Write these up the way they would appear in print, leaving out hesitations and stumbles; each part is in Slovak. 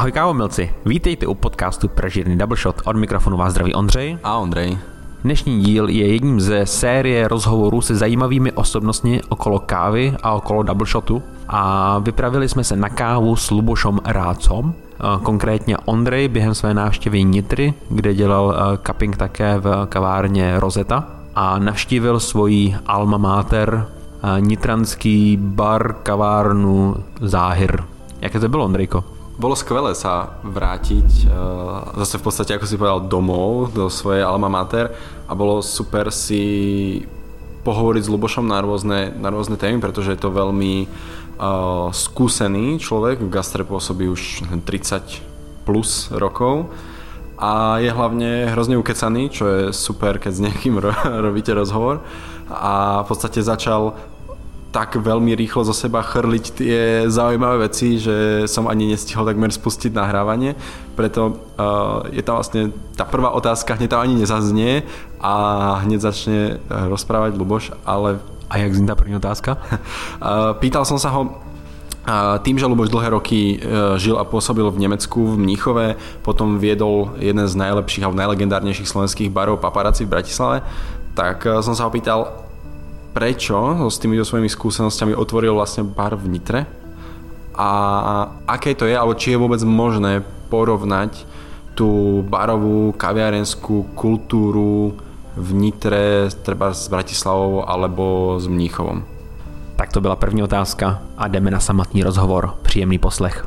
Ahoj kávomilci, vítejte u podcastu Pražírny Double Shot. Od mikrofonu vás zdraví Ondřej. A Ondřej. Dnešní díl je jedním ze série rozhovorů se zajímavými osobnostmi okolo kávy a okolo double shotu. A vypravili jsme se na kávu s Lubošom Rácom. Konkrétně Ondřej během své návštěvy Nitry, kde dělal cupping také v kavárně Rosetta. A navštívil svoji alma mater, nitranský bar, kavárnu Záhir. Jaké to bylo, Ondrejko? Bolo skvelé sa vrátiť zase v podstate, ako si povedal, domov do svojej alma mater a bolo super si pohovoriť s Lubošom na rôzne témy, pretože je to veľmi skúsený človek, v gastre pôsobí už 30 plus rokov a je hlavne hrozne ukecaný, čo je super, keď s niekým robíte rozhovor, a v podstate začal tak veľmi rýchlo zo seba chrliť tie zaujímavé veci, že som ani nestihol takmer spustiť nahrávanie. Preto je tam vlastne tá prvá otázka, hneď tam ani nezaznie a hneď začne rozprávať Luboš, ale... A jak zní tá první otázka? Pýtal som sa ho, tým, že Luboš dlhé roky žil a pôsobil v Nemecku, v Mníchove, potom viedol jeden z najlepších a najlegendárnejších slovenských barov Paparazzi v Bratislave, tak som sa ho pýtal, prečo s tými svojimi skúsenostiami otvoril vlastne bar v Nitre a aké to je, alebo či je vôbec možné porovnať tú barovú, kaviarenskú kultúru v Nitre treba s Bratislavou alebo s Mníchovom. Tak to byla první otázka a jdeme na samotný rozhovor. Příjemný poslech.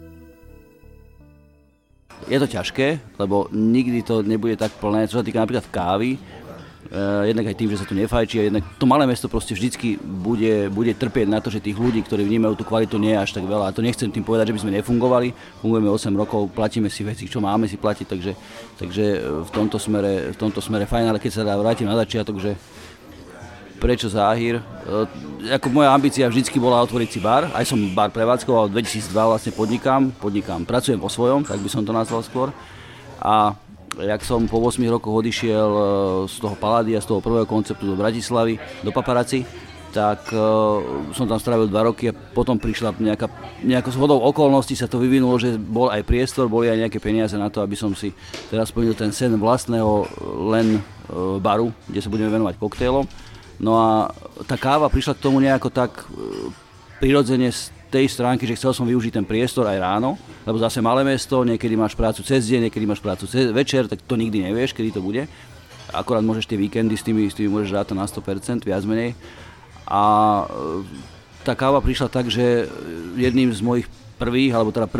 Je to ťažké, lebo nikdy to nebude tak plné, čo sa týka napríklad kávy. Jednak aj tým, že sa tu nefajčí, a jednak to malé mesto proste vždycky bude trpieť na to, že tých ľudí, ktorí vnímajú tú kvalitu, nie je až tak veľa. A to nechcem tým povedať, že by sme nefungovali. Fungujeme 8 rokov, platíme si veci, čo máme si platiť, takže v tomto smere fajn, ale keď sa vrátim na začiatok, že prečo Záhir? Ako moja ambícia vždycky bola otvoriť si bar. Aj som bar prevádzkoval, v 2002 vlastne podnikám, pracujem vo svojom, tak by som to nazval skôr. A jak som po 8 rokoch odišiel z toho Palladia, z toho prvého konceptu do Bratislavy, do Paparazzi, tak som tam strávil 2 roky a potom prišla nejakou zhodou okolností sa to vyvinulo, že bol aj priestor, boli aj nejaké peniaze na to, aby som si teraz splnil ten sen vlastného len baru, kde sa budeme venovať koktejlom. No a tá káva prišla k tomu nejako tak prirodzene z tej stránky, že chcel som využiť ten priestor aj ráno, lebo zase malé mesto, niekedy máš prácu cez deň, niekedy máš prácu večer, tak to nikdy nevieš, kedy to bude. Akorát môžeš tie víkendy, s tými môžeš rátať na 100%, viac menej. A tá káva prišla tak, že jedným z mojich prvý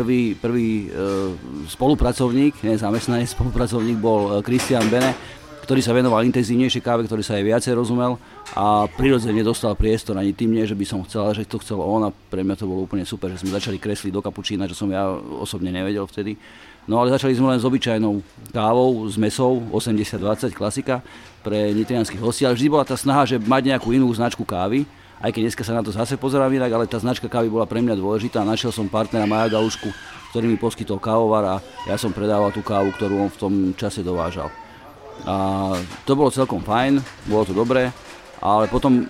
spolupracovník, nie zamestnanec, spolupracovník bol Christian Bene, ktorý sa venoval intenzívnejšej káve, ktorý sa aj viacej rozumel a prirodzene dostal priestor, ani tým nie, že by som chcel, ale že to chcel on, a pre mňa to bolo úplne super, že sme začali kresliť do kapučína, čo som ja osobne nevedel vtedy. No ale začali sme len s obyčajnou kávou, s mesou, 80-20 klasika pre nitrianskych hostí, ale vždy bola tá snaha, že mať nejakú inú značku kávy, aj keď dneska sa na to zase pozerám inak, ale tá značka kávy bola pre mňa dôležitá. Našiel som partnera Maja Galušku, ktorý mi poskytol kávovar a ja som predával tú kávu, ktorú on v tom čase dovážal. A to bolo celkom fajn, bolo to dobré, ale potom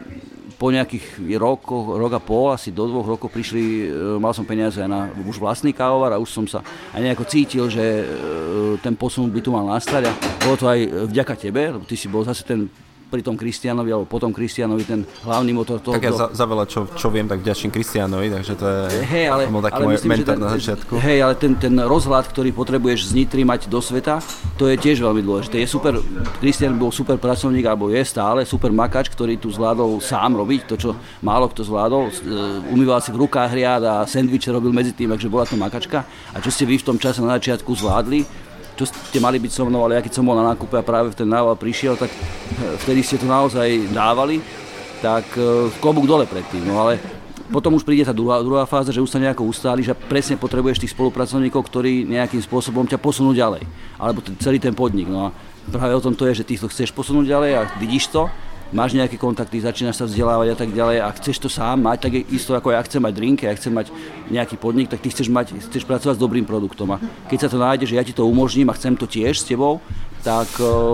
po nejakých rok a pol, asi do 2 rokov prišli, mal som peniaze na už vlastný kávovar a už som sa aj nejako cítil, že ten posun by tu mal nastať a bolo to aj vďaka tebe, lebo ty si bol zase ten pri tom Kristianovi, alebo potom Kristianovi ten hlavný motor toho. Tak ja za veľa, čo viem, tak vďačím Kristianovi, takže to je bol taký môj myslím, mentor na začiatku. Hej, ale ten rozhľad, ktorý potrebuješ z Nitry mať do sveta, to je tiež veľmi dôležité. Je super, Kristian bol super pracovník, alebo je stále super makač, ktorý tu zvládol sám robiť, to čo málo kto zvládol. Umýval si v rukách riad a sendviče robil medzi tým, takže bola to makačka. A čo ste vy v tom čase na začiatku zvládli, čo ste mali byť so mnou, ale ja keď som bol na nákupe a práve v ten nával prišiel, tak vtedy ste to naozaj dávali, tak klobúk dole predtým. No ale potom už príde tá druhá fáza, že už sa nejako ustáli, že presne potrebuješ tých spolupracovníkov, ktorí nejakým spôsobom ťa posunú ďalej. Alebo celý ten podnik. No a práve o tom to je, že ty to chceš posunúť ďalej a vidíš to, máš nejaké kontakty, začínaš sa vzdelávať a tak ďalej a chceš to sám mať, tak isto ako ja chcem mať drink, ja chcem mať nejaký podnik, tak ty chceš pracovať s dobrým produktom a keď sa to nájde, že ja ti to umožním a chcem to tiež s tebou, tak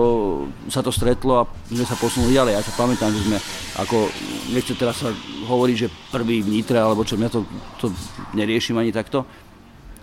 sa to stretlo a sme sa posunuli ďalej. Ja sa pamätám, že sme ako, nechcem teraz sa hovoriť, že prvý v Nitre, alebo čo, mňa to neriešim ani takto,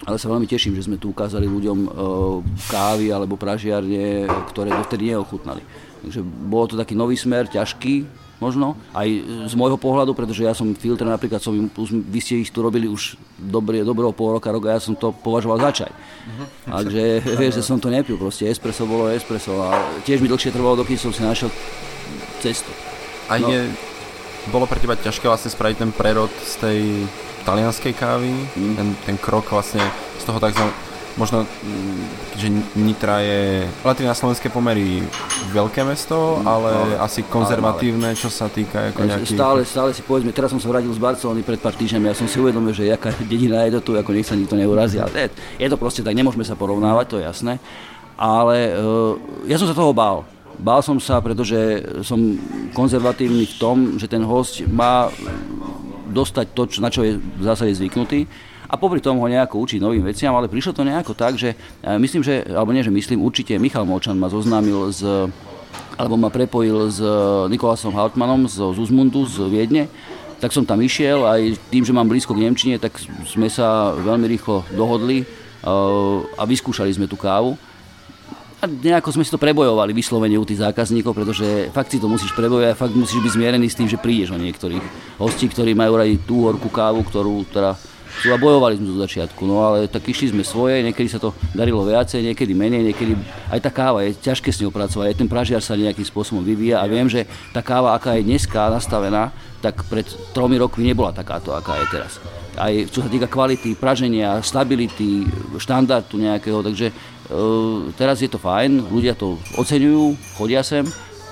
Ale sa veľmi teším, že sme tu ukázali ľuďom kávy alebo pražiarne, ktoré dovtedy neochutnali. Takže bolo to taký nový smer, ťažký možno, aj z môjho pohľadu, pretože ja som filtre napríklad, vy ste ich tu robili už dobrého pol roka, ja som to považoval za čaj. Takže vieš, že som to nepil, proste espresso bolo espresso a tiež mi dlhšie trvalo, dokým som si našiel cestu. A bolo pre teba ťažké vlastne spraviť ten prerod z tej talianskej kávy, ten krok vlastne z toho takzvaného, možno, že Nitra je relatívne na slovenské pomery veľké mesto, ale asi konzervatívne, čo sa týka ako nejakých... Stále si povedzme, teraz som sa vrátil z Barcelony pred pár týždňami, ja som si uvedomil, že jaká dedina je to tu, ako nech sa nikto neurazí, ale je to proste tak, nemôžeme sa porovnávať, to je jasné, ale ja som sa toho bál. Bál som sa, pretože som konzervatívny v tom, že ten hosť má dostať to, na čo je v zásade zvyknutý, a popri tom ho nejako učiť novým veciam, ale prišlo to nejako tak, že myslím, že, alebo nie, že myslím, určite Michal Molčan ma zoznámil alebo ma prepojil s Nikolasom Hauptmannom z Uzmundu z Viedne, tak som tam išiel, aj tým, že mám blízko k nemčine, tak sme sa veľmi rýchlo dohodli a vyskúšali sme tú kávu. A nejako sme si to prebojovali vyslovene u tých zákazníkov, pretože fakt si to musíš prebojovať a fakt musíš byť zmierený s tým, že prídeš o niektorých hostí, ktorí majú radi tú horkú kávu, ktorú teda a bojovali sme do začiatku, no ale tak išli sme svoje, niekedy sa to darilo viacej, niekedy menej, niekedy aj tá káva je ťažké s ňou pracovať, aj ten pražiar sa nejakým spôsobom vyvíja a viem, že tá káva, aká je dneska nastavená, tak pred 3 rokmi nebola takáto, aká je teraz. Aj čo sa týka kvality, praženia, stability, štandardu nejakého, takže teraz je to fajn, ľudia to oceňujú, chodia sem.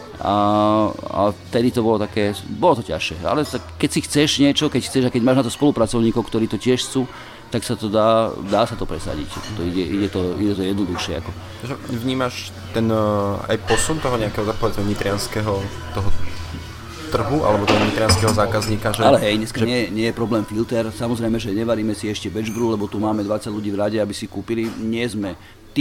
A vtedy to bolo to ťažšie, ale keď si chceš niečo, keď máš na to spolupracovníkov, ktorí to tiež chcú, tak sa to dá sa to presadiť, ide to jednoduchšie. Ako. Vnímaš ten aj posun toho nejakého nitrianskeho toho trhu, alebo toho nitrianskeho zákazníka? Že, ale hej, dneska nie je problém filter, samozrejme, že nevaríme si ešte batch brew, lebo tu máme 20 ľudí v rade, aby si kúpili, nie sme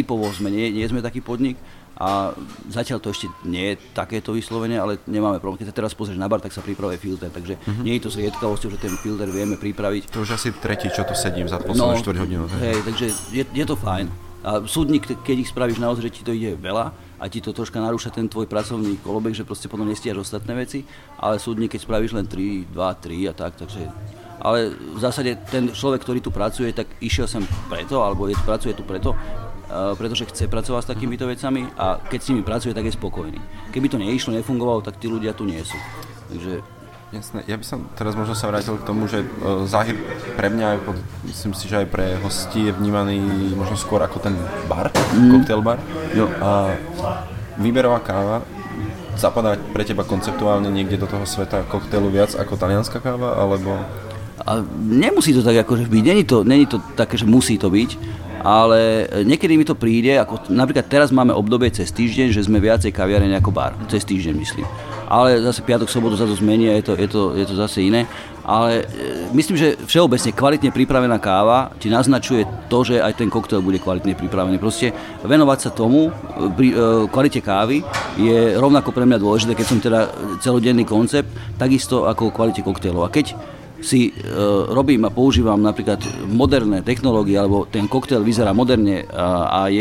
taký podnik, a zatiaľ to ešte nie je takéto vyslovene, ale nemáme problém. Keď sa teraz pozrieš na bar, tak sa pripravuje filter, takže nie je to zriedkavosťou, že ten filter vieme pripraviť. To už asi tretí, čo tu sedím za poslednú 4 hodinu. Hej, takže je to fajn. A súdnik, keď ich spravíš naozaj, že ti to ide veľa a ti to troška narúša ten tvoj pracovný kolobek, že proste potom nestíhaš ostatné veci, ale súdnik, keď spravíš len 3, 2, 3 a tak, takže... Ale v zásade ten človek, ktorý tu pracuje, tak išiel sem preto, alebo pracuje tu preto, pretože chce pracovať s takýmito vecami a keď s nimi pracuje, tak je spokojný. Keby to neišlo, nefungovalo, tak tí ľudia tu nie sú. Takže... Jasné, ja by som teraz možno sa vrátil k tomu, že Záhir pre mňa, myslím si, že aj pre hostí je vnímaný možno skôr ako ten bar, cocktail bar. Jo. A výberová káva zapadá pre teba konceptuálne niekde do toho sveta koktejlu viac ako talianská káva, alebo... A nemusí to tak akože byť, není to také, že musí to byť, ale niekedy mi to príde, ako napríklad teraz máme obdobie cez týždeň, že sme viacej kaviareň ako bar, cez týždeň myslím. Ale zase piatok, sobotu sa to zmení a je to zase iné. Ale myslím, že všeobecne kvalitne pripravená káva ti naznačuje to, že aj ten koktail bude kvalitne pripravený. Proste venovať sa tomu, kvalite kávy je rovnako pre mňa dôležité, keď som teda celodenný koncept, takisto ako kvalite koktailov. A keď si robím a používam napríklad moderné technológie, alebo ten koktail vyzerá moderne a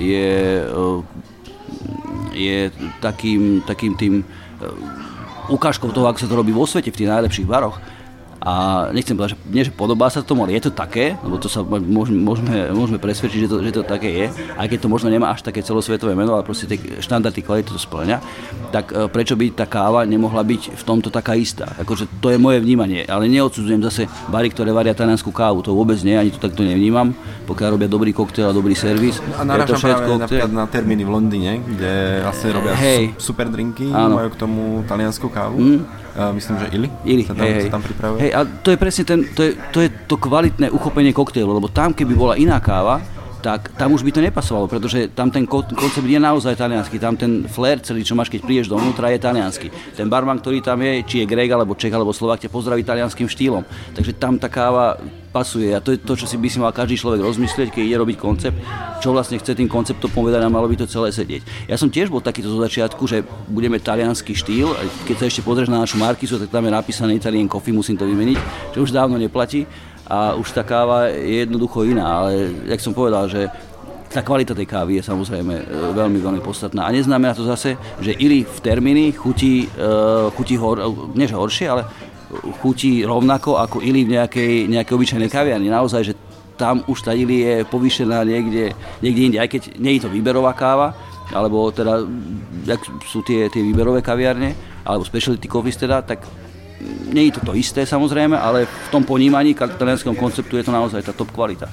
je takým tým ukážkou toho, ako sa to robí vo svete v tých najlepších baroch. A nechcem povedať, že nie, že podobá sa tomu, ale je to také, lebo to sa môžeme presvedčiť, že to také je, aj keď to možno nemá až také celosvetové meno, ale proste tie štandardy kvality to spĺňa, tak prečo by tá káva nemohla byť v tomto taká istá? Akože to je moje vnímanie, ale neodsudzujem zase bary, ktoré varia taliansku kávu, to vôbec nie, ani to takto nevnímam, pokiaľ robia dobrý koktail a dobrý servis. A narážam práve napríklad na termíny v Londýne, kde vlastne robia super drinky, majú k tomu taliansku kávu. Myslím, že Ili sa tam pripravuje. Hej, a to je presne to je to kvalitné uchopenie koktejlu, lebo tam, keby bola iná káva, tak tam už by to nepasovalo, pretože tam ten koncept je naozaj taliansky, tam ten flair celý, čo máš, keď prídeš dovnútra, je taliansky. Ten barman, ktorý tam je, či je Grek, alebo Čech, alebo Slovák, ťa pozdraví talianským štýlom. Takže tam tá káva pasuje a to je to, čo si by si mal každý človek rozmyslieť, keď ide robiť koncept, čo vlastne chce tým konceptom povedať a malo by to celé sedieť. Ja som tiež bol takýto zo začiatku, že budeme taliansky štýl, keď sa ešte pozrieš na našu markizu, tak tam je napísané Italian Coffee, musím to vymeniť, čo už dávno neplatí. a už tá káva je jednoducho iná, ale jak som povedal, že tá kvalita tej kávy je samozrejme veľmi, veľmi podstatná. A neznamená to zase, že Illy v Termini chutí nie že horšie, ale chutí rovnako ako Illy v nejakej obyčajnej kaviarni. Naozaj, že tam už tá Illy je povýšená niekde inde, aj keď nie je to výberová káva, alebo teda, jak sú tie výberové kaviarne, alebo specialty coffees teda, tak nie je to isté samozrejme, ale v tom ponímaní talianskom konceptu je to naozaj tá top kvalita.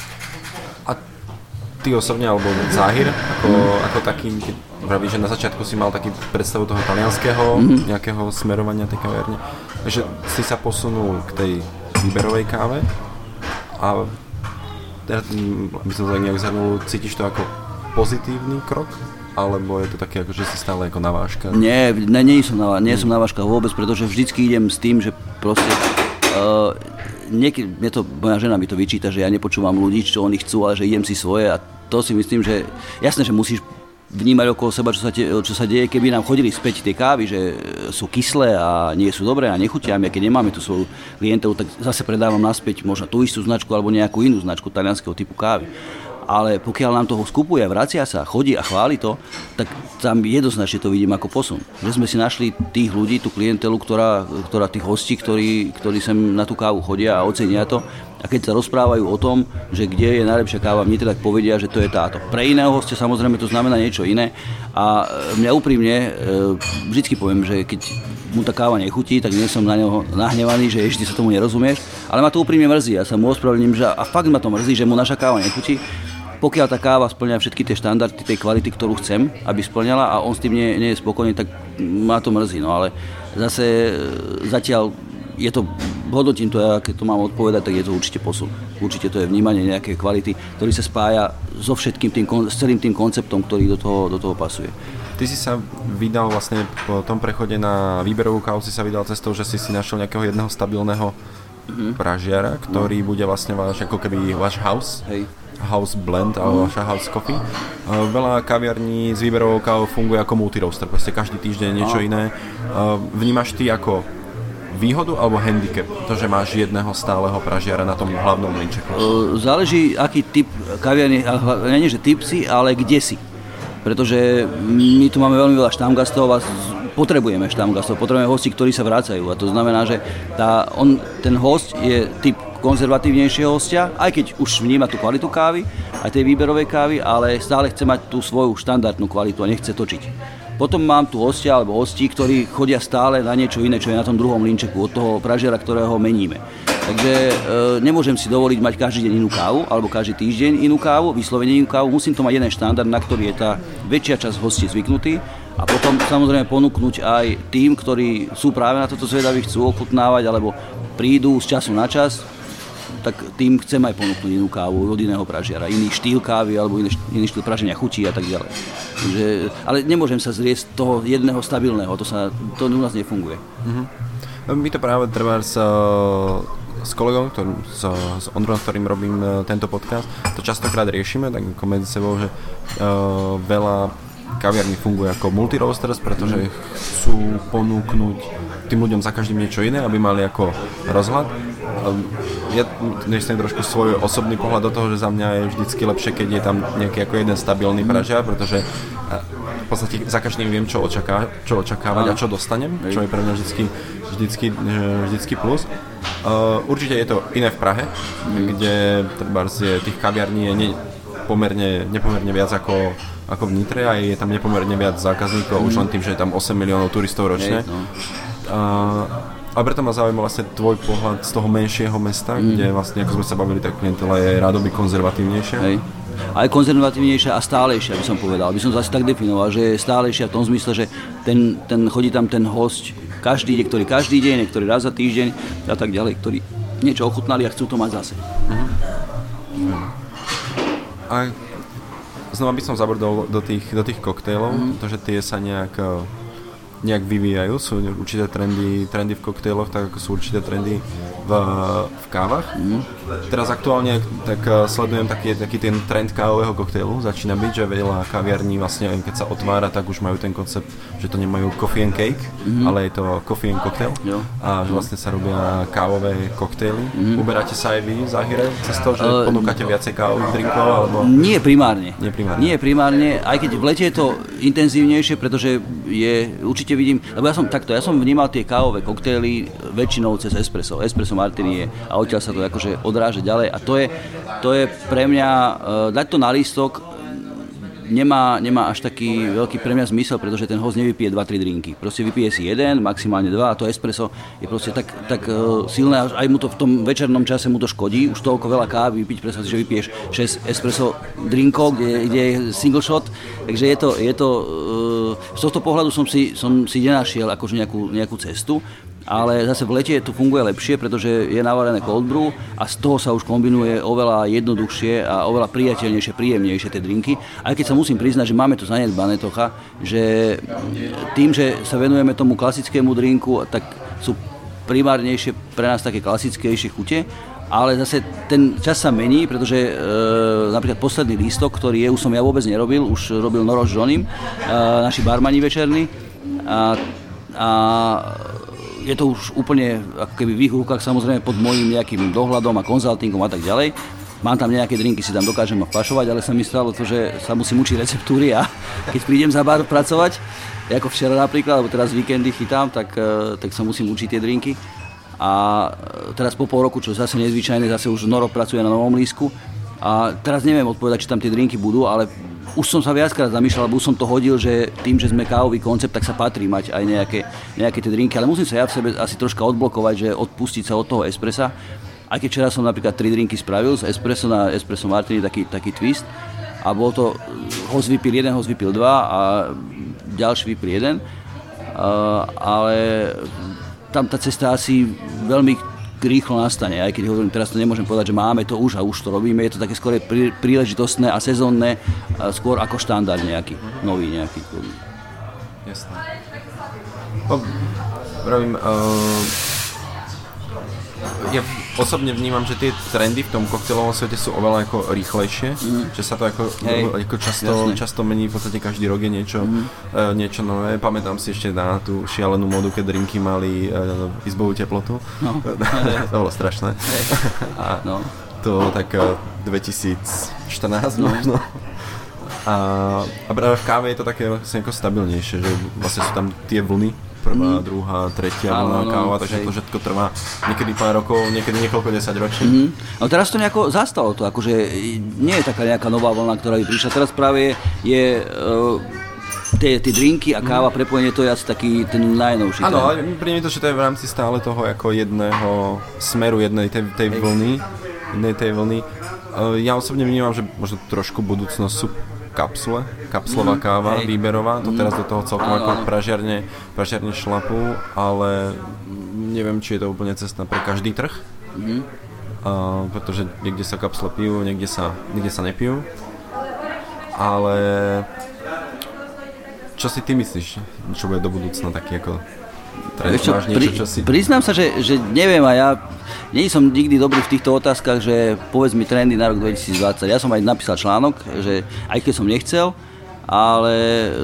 Ty osobne, alebo Záhir, ako taký, keď vravíš, že na začiatku si mal taký predstavu toho talianského nejakého smerovania tej kaverne, že si sa posunul k tej výberovej káve a teda, by som to nejak zhrnul, cítiš to ako pozitívny krok? Alebo je to také, ako, že si stále ako na vážkach? Nie som na vážkach vôbec, pretože vždycky idem s tým, že proste niekedy, moja žena mi to vyčíta, že ja nepočúvam ľudí, čo oni chcú, ale že idem si svoje a to si myslím, že jasné, že musíš vnímať okolo seba, čo sa deje, keby nám chodili späť tie kávy, že sú kyslé a nie sú dobré a nechutia, a keď nemáme tú svoju klientelu, tak zase predávam naspäť možno tú istú značku alebo nejakú inú značku talianskeho typu kávy. Ale pokiaľ nám toho skupuje a vracia sa, chodí a chváli to, tak tam jednoznačne to vidím ako posun. Že sme si našli tých ľudí, tú klientelu, ktorá tých hostí, ktorí sem na tú kávu chodia a ocenia to. A keď sa rozprávajú o tom, že kde je najlepšia káva v Nitre, tak povedia, že to je táto. Pre iného hostia samozrejme to znamená niečo iné. A mňa úprimne vždycky poviem, že keď mu tá káva nechutí, tak nie som na neho nahnevaný, že ešte sa tomu nerozumieš. Ale ma to úprimne mrzí. Ja sa mu ospravedlním, že a fakt ma to mrzí, že mu naša káva nechutí. Pokiaľ tá káva spĺňa všetky tie štandardy tej kvality, ktorú chcem, aby spĺňala a on s tým nie je spokojný, tak ma to mrzí. No ale zase zatiaľ je to, hodnotím to, ja keď to mám odpovedať, tak je to určite posun. Určite to je vnímanie nejakej kvality, ktorý sa spája so všetkým s celým tým konceptom, ktorý do toho pasuje. Ty si sa vydal vlastne po tom prechode na výberovú kávu, si sa vydal cestou, že si našiel nejakého jedného stabilného pražiara, ktorý bude vlastne ako keby váš house. Hej. House blend alebo vaša house coffee. Veľa kaviarní s výberovou kávou funguje ako multi-roaster, proste každý týždeň niečo iné. Vnímaš ty ako výhodu alebo handicap, to, že máš jedného stáleho pražiara na tom hlavnom linčeku? Záleží, aký typ kaviarní, nie že typ si, ale kde si. Pretože my tu máme veľmi veľa štamgastov a potrebujeme hosti, ktorí sa vracajú. A to znamená, že ten host je typ konzervatívnejšieho hostia, aj keď už vníma tú kvalitu kávy, aj tej výberovej kávy, ale stále chce mať tú svoju štandardnú kvalitu a nechce točiť. Potom mám tu hostia alebo hostí, ktorí chodia stále na niečo iné, čo je na tom druhom linčeku od toho pražiara, ktorého meníme. Takže nemôžem si dovoliť mať každý deň inú kávu, alebo každý týždeň inú kávu, vyslovene inú kávu. Musím to mať jeden štandard, na ktorý je tá väčšia časť hostí zvyknutý. A potom samozrejme ponúknuť aj tým, ktorí sú práve na toto zvedaví, chcú ochutnávať, alebo prídu z času na čas, tak tým chcem aj ponúknuť inú kávu od iného pražiara, iný štýl kávy alebo iný štýl praženia chutí a tak ďalej. Takže, ale nemôžem sa zriesť toho jedného stabilného, to u nás nefunguje. My to práve treba s kolegom, s Ondrom, s ktorým robím tento podcast, to častokrát riešime, tak ako medzi sebou, že veľa kaviarní funguje ako multi-roasters, pretože chcú ponúknuť tým ľuďom za každým niečo iné, aby mali ako rozhľad. Ja nechcem trošku svoj osobný pohľad do toho, že za mňa je vždycky lepšie, keď je tam nejaký ako jeden stabilný pražiar, pretože v podstate za každým viem, čo očakávať a čo dostanem, čo je pre mňa vždycky plus. Určite je to iné v Prahe, kde tých kaviarní je nepomerne viac ako v Nitre a je tam nepomerne viac zákazníkov, už len tým, že je tam 8 miliónov turistov ročne. A preto ma zaujíma vlastne tvoj pohľad z toho menšieho mesta, kde vlastne, ako sme sa bavili, tak klientela je rádoby konzervatívnejšia. Hej. Aj konzervatívnejšia a stálejšia, by som povedal. By som to asi tak definoval, že je stálejšia v tom zmysle, že chodí tam ten hosť niektorý každý deň, niektorý raz za týždeň a tak ďalej, ktorí niečo ochutnali a chcú to mať zase. A znova by som zabrdol do tých koktejlov, pretože tie sa nejak nejak vyvíjajú, sú určité trendy v koktejloch, tak ako sú určité trendy v kávach. Teraz aktuálne tak sledujem taký ten trend kávového koktejlu, začína byť, že veľa kaviarní vlastne, keď sa otvára, tak už majú ten koncept, že to nemajú coffee and cake, ale je to coffee and cocktail a že vlastne sa robia kávové koktejly. Uberáte sa aj vy, Záhire, cez to, že ponúkate viacej kávových drinkov? Alebo... Nie primárne, aj keď v lete je to intenzívnejšie, pretože určite vidím, lebo ja som vnímal tie kávové koktejly väčšinou cez espresso martini a odtiaľ sa to akože odráža ďalej a to je pre mňa, dať to na lístok nemá až taký veľký pre mňa zmysel, pretože ten host nevypije 2-3 drinky. Proste vypije si jeden, maximálne 2 a to espresso je proste tak silné, aj mu to v tom večernom čase mu to škodí, už toľko veľa kávy vypiť, predstav si, že vypiješ 6 espresso drinkov, kde je single shot, takže je to z tohto pohľadu som si nenašiel akože nejakú cestu. Ale zase v lete to funguje lepšie, pretože je navarené cold brew a z toho sa už kombinuje oveľa jednoduchšie a oveľa priateľnejšie, príjemnejšie tie drinky. Aj keď sa musím priznať, že máme to zanedbané trocha, že tým, že sa venujeme tomu klasickému drinku, tak sú primárnejšie pre nás také klasickejšie chute, ale zase ten čas sa mení, pretože napríklad posledný lístok, ktorý už som ja vôbec nerobil, už robil Noro s Johnim, naši barmani večerní a je to už úplne ako keby v ich rukách, samozrejme pod môjim nejakým dohľadom a konzultingom a tak ďalej. Mám tam nejaké drinky, si tam dokážem vpašovať, ale sa mi stalo to, že sa musím učiť receptúry a keď prídem za bar pracovať, ako včera napríklad, alebo teraz víkendy chytám, tak sa musím učiť tie drinky. A teraz po pol roku, čo zase nezvyčajné, zase už Noro pracuje na novom lístku. A teraz neviem odpovedať, či tam tie drinky budú, ale už som sa viackrát zamýšľal, lebo už som to hodil, že tým, že sme kávový koncept, tak sa patrí mať aj nejaké tie drinky, ale musím sa ja v sebe asi troška odblokovať, že odpustiť sa od toho espressa. Aj keď včera som napríklad 3 drinky spravil z espresso na espresso martini, taký twist a bol to, host vypil 1, host vypil 2 a ďalší vypil 1, ale tam tá cesta asi veľmi rýchlo nastane, aj keď hovorím, teraz to nemôžem povedať, že máme to už a už to robíme, je to také skôr príležitostné a sezónne, skôr ako štandard nejaký, nový nejaký. Jasné. Pravím, ja osobne vnímam, že tie trendy v tom koktejlovom svete sú oveľa ako rýchlejšie, že sa to ako často mení, v podstate každý rok je niečo nové. Pamätám si ešte na tú šialenú modu, keď drinky mali izbovú teplotu. No. To bolo strašné. No. To tak 2014 možno. A práve v káve je to také ako stabilnejšie, že vlastne sú tam tie vlny. Prvá, druhá, tretia vlna káva, takže to všetko trvá niekedy pár rokov, niekedy niekoľko 10 ročí. No teraz to nejako zastalo to, akože nie je taká nejaká nová vlna, ktorá by prišla. Teraz práve je tie drinky a káva, prepojenie, to je asi taký ten najnovší. Áno, ale príde mi to, že to je v rámci stále toho ako jedného smeru, jednej tej vlny. Ja osobne vnímam, že možno trošku budúcnosť sú kapslová káva, výberová, to teraz do toho celkom ako pražiarne šlapú, ale neviem, či je to úplne cesta pre každý trh, pretože niekde sa kapsle pijú, niekde sa nepijú, ale čo si ty myslíš, čo bude do budúcna taký ako trend, máš niečo, čo si... Priznám sa, že neviem a ja nie som nikdy dobrý v týchto otázkach, že povedz mi trendy na rok 2020. Ja som aj napísal článok, že aj keď som nechcel, ale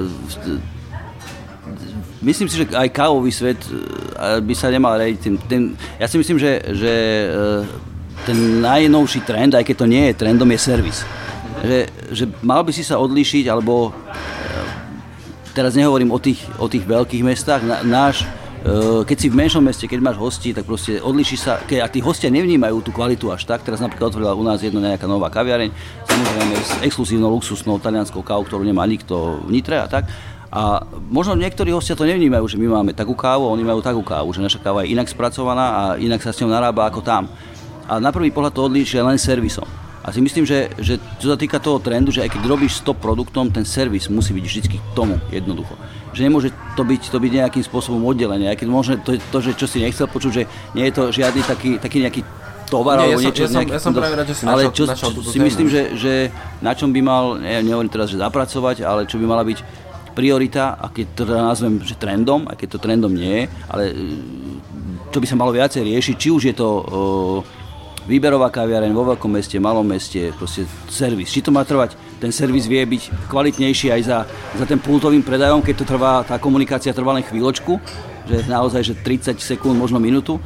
myslím si, že aj kávový svet by sa nemal riadiť tým. Ja si myslím, že ten najnovší trend, aj keď to nie je trendom, je servis. Že mal by si sa odlíšiť, alebo teraz nehovorím o tých veľkých mestách, keď si v menšom meste, keď máš hostí, tak proste odlíšiš sa, a tí hostia nevnímajú tú kvalitu až tak. Teraz napríklad otvorila u nás jedna nejaká nová kaviareň, samozrejme s exkluzívnou luxusnou talianskou kávou, ktorú nemá nikto v Nitre a tak. A možno niektorí hostia to nevnímajú, že my máme takú kávu, oni majú takú kávu, že naša káva je inak spracovaná a inak sa s ňou narába ako tam. A na prvý pohľad to odlíšia len servisom. A si myslím, že čo sa týka toho trendu, že aj keď robíš s top produktom, ten servis musí byť vždy k tomu jednoducho. Že nemôže to byť nejakým spôsobom oddelené. Aj keď možno to, že čo si nechcel počuť, že nie je to žiadny taký nejaký tovar alebo niečo. Ja som práve rád, že si načal túto si tému. Myslím, že na čom by mal, nehovorím teraz, že zapracovať, ale čo by mala byť priorita, a keď to nazvem, že trendom, aj keď to trendom nie je, ale čo by sa malo viacej riešiť, či už je to výberová kaviareň vo veľkom meste, malom meste, proste servis. Či to má trvať, ten servis vie byť kvalitnejší aj za ten pultovým predajom, keď to trvá, tá komunikácia trvá len chvíľočku, že naozaj, že 30 sekúnd, možno minútu,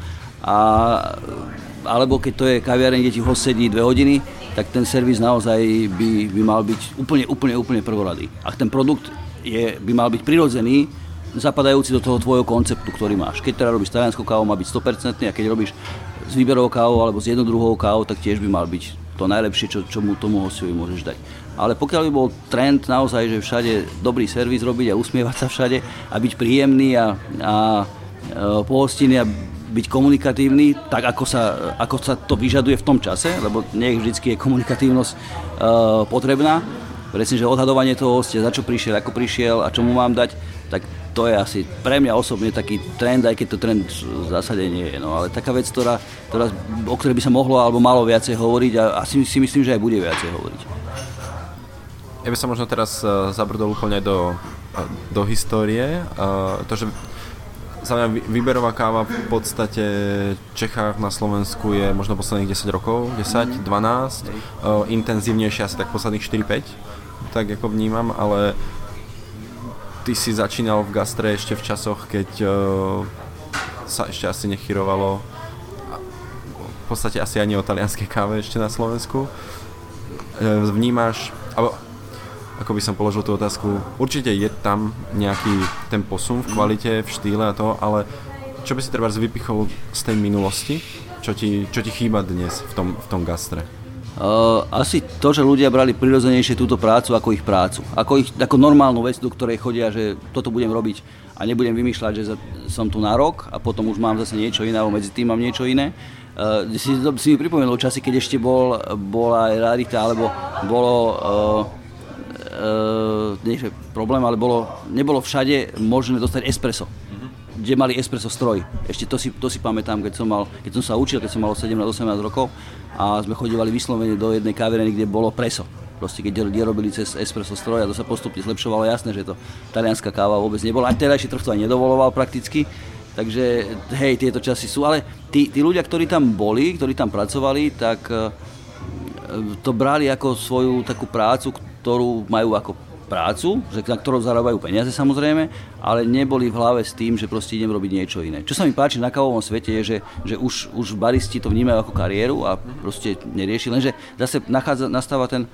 alebo keď to je kaviareň, kde ti host sedí 2 hodiny, tak ten servis naozaj by mal byť úplne prvoradý. Ak ten produkt by mal byť prirodzený, zapadajúci do toho tvojho konceptu, ktorý máš. Keď teda robíš talianskou kávou, má byť 100%, a keď robíš s výberovou kávou alebo s jednou druhou kávou, tak tiež by mal byť to najlepšie, čo mu tomu hostovi môžeš dať. Ale pokiaľ by bol trend naozaj, že všade dobrý servis robiť a usmievať sa všade a byť príjemný a pohostinný a byť komunikatívny, tak ako sa to vyžaduje v tom čase, lebo nie vždycky je komunikatívnosť potrebná. Presne, že odhadovanie toho hostia, za čo prišiel, ako prišiel a čo mu mám dať, tak to je asi pre mňa osobne taký trend, aj keď to trend v zásade nie je. No, ale taká vec, o ktorej by sa mohlo alebo malo viacej hovoriť a asi si myslím, že aj bude viacej hovoriť. Ja by som možno teraz zabrdol úplne do histórie. To, že za mňa výberová káva v podstate v Čechách na Slovensku je možno posledných 10 rokov, 10, 12, intenzívnejšie asi tak posledných 4-5, tak ako vnímam, ale ty si začínal v gastre ešte v časoch, keď sa ešte asi nechyrovalo v podstate asi ani o talianskej káve ešte na Slovensku. Vnímaš, alebo ako by som položil tú otázku, určite je tam nejaký ten posun v kvalite, v štýle a to, ale čo by si trebárs vypichol z tej minulosti? Čo ti chýba dnes v tom gastre? Asi to, že ľudia brali prirodzenejšie túto prácu ako ich prácu. Ako normálnu vec, do ktorej chodia, že toto budem robiť a nebudem vymýšľať, že som tu na rok a potom už mám zase niečo iné, alebo medzi tým mám niečo iné. Si mi pripomenul časy, keď ešte bola rarita, alebo bolo nie že problém, ale nebolo všade možné dostať espresso. Kde mali espresso stroj. Ešte to si pamätám, keď som sa učil, keď som mal 17-18 rokov a sme chodívali vyslovene do jednej kaviarny, kde bolo preso. Proste keď robili cez espresso stroj a to sa postupne zlepšovalo, jasné, že to talianská káva vôbec nebola. Aj terajší trh to aj nedovoloval prakticky. Takže hej, tieto časy sú, ale tí ľudia, ktorí tam boli, ktorí tam pracovali, tak to brali ako svoju takú prácu, ktorú majú ako prácu, na ktorú zarábajú peniaze samozrejme, ale neboli v hlave s tým, že proste idem robiť niečo iné. Čo sa mi páči na kávovom svete je, že už baristi to vnímajú ako kariéru a proste nerieši, lenže zase nastáva ten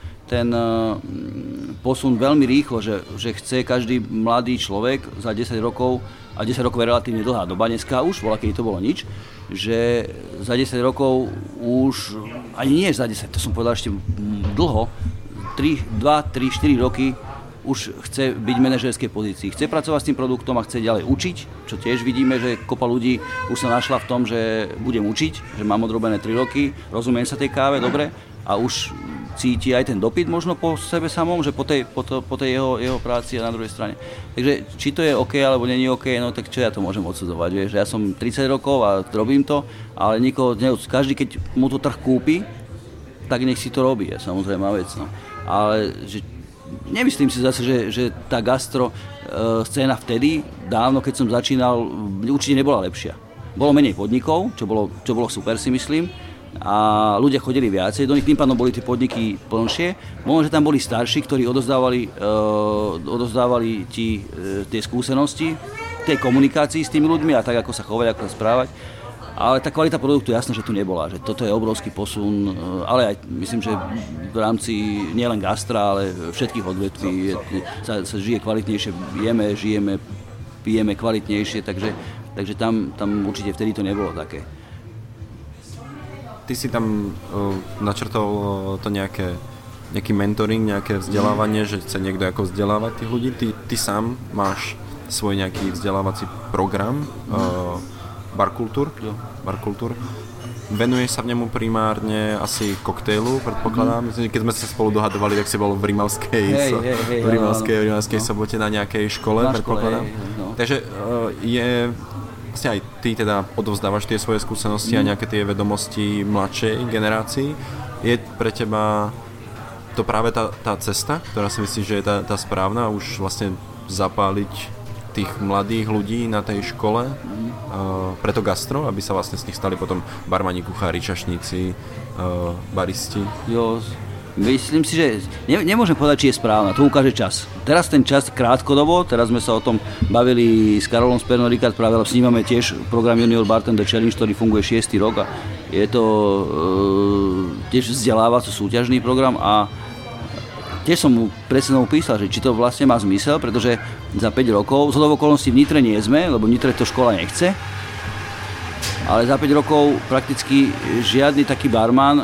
posun veľmi rýchlo, že chce každý mladý človek za 10 rokov, a 10 rokov je relatívne dlhá doba dneska už, keď to bolo nič, že za 10 rokov už, ani nie za 10, to som povedal ešte dlho, 2, 3, 4 roky už chce byť v manažerskej pozícii. Chce pracovať s tým produktom a chce ďalej učiť, čo tiež vidíme, že kopa ľudí už sa našla v tom, že budem učiť, že mám odrobené 3 roky, rozumiem sa tej káve, dobre, a už cíti aj ten dopyt možno po sebe samom, že po tej jeho práci a na druhej strane. Takže či to je OK, alebo není OK, no tak čo ja to môžem odsudzovať, vieš, ja som 30 rokov a robím to, ale každý, keď mu to trh kúpi, tak nech si to robí, je samozrejme vec, no. Ale nemyslím si zase, že tá gastro scéna vtedy, dávno, keď som začínal, určite nebola lepšia. Bolo menej podnikov, čo bolo super, si myslím, a ľudia chodili viacej, do nich tým pádom boli tie podniky plnšie. Možno, že tam boli starší, ktorí odozdávali ti tie skúsenosti, tej komunikácii s tými ľuďmi a tak, ako sa chovať, ako sa správať. Ale tá kvalita produktu jasné, že tu nebola, že toto je obrovský posun, ale aj myslím, že v rámci nielen gastra, ale všetkých odvetví sa žije kvalitnejšie, žijeme, pijeme kvalitnejšie, takže tam určite vtedy to nebolo také. Ty si tam načrtol to nejaký mentoring, nejaké vzdelávanie, že chce niekto ako vzdelávať tých ľudí. Ty sám máš svoj nejaký vzdelávací program, Barkultúr. Venuješ sa v nemu primárne asi koktejlu, predpokladám. Myslím, keď sme sa spolu dohadovali, tak si bol v Rimavskej sobote na nejakej škole, predpokladám. No. Takže vlastne aj ty teda odovzdávaš tie svoje skúsenosti a nejaké tie vedomosti mladšej generácii. Je pre teba to práve tá cesta, ktorá si myslíš, že je tá správna? Už vlastne zapáliť tých mladých ľudí na tej škole preto gastro, aby sa vlastne z nich stali potom barmani, kuchári, čašníci, baristi? Jo, myslím si, že nemôžem povedať, či je správna, to ukáže čas. Teraz ten čas krátkodobo, teraz sme sa o tom bavili s Karolom z Pernod Ricard, práve snímame tiež program Junior Bartender Challenge, ktorý funguje 6. rok a je to tiež vzdelávací súťažný program a tiež som mu presne písal, že či to vlastne má zmysel, pretože za 5 rokov, zhodou okolností v Nitre nie sme, lebo v Nitre to škola nechce, ale za 5 rokov prakticky žiadny taký barman,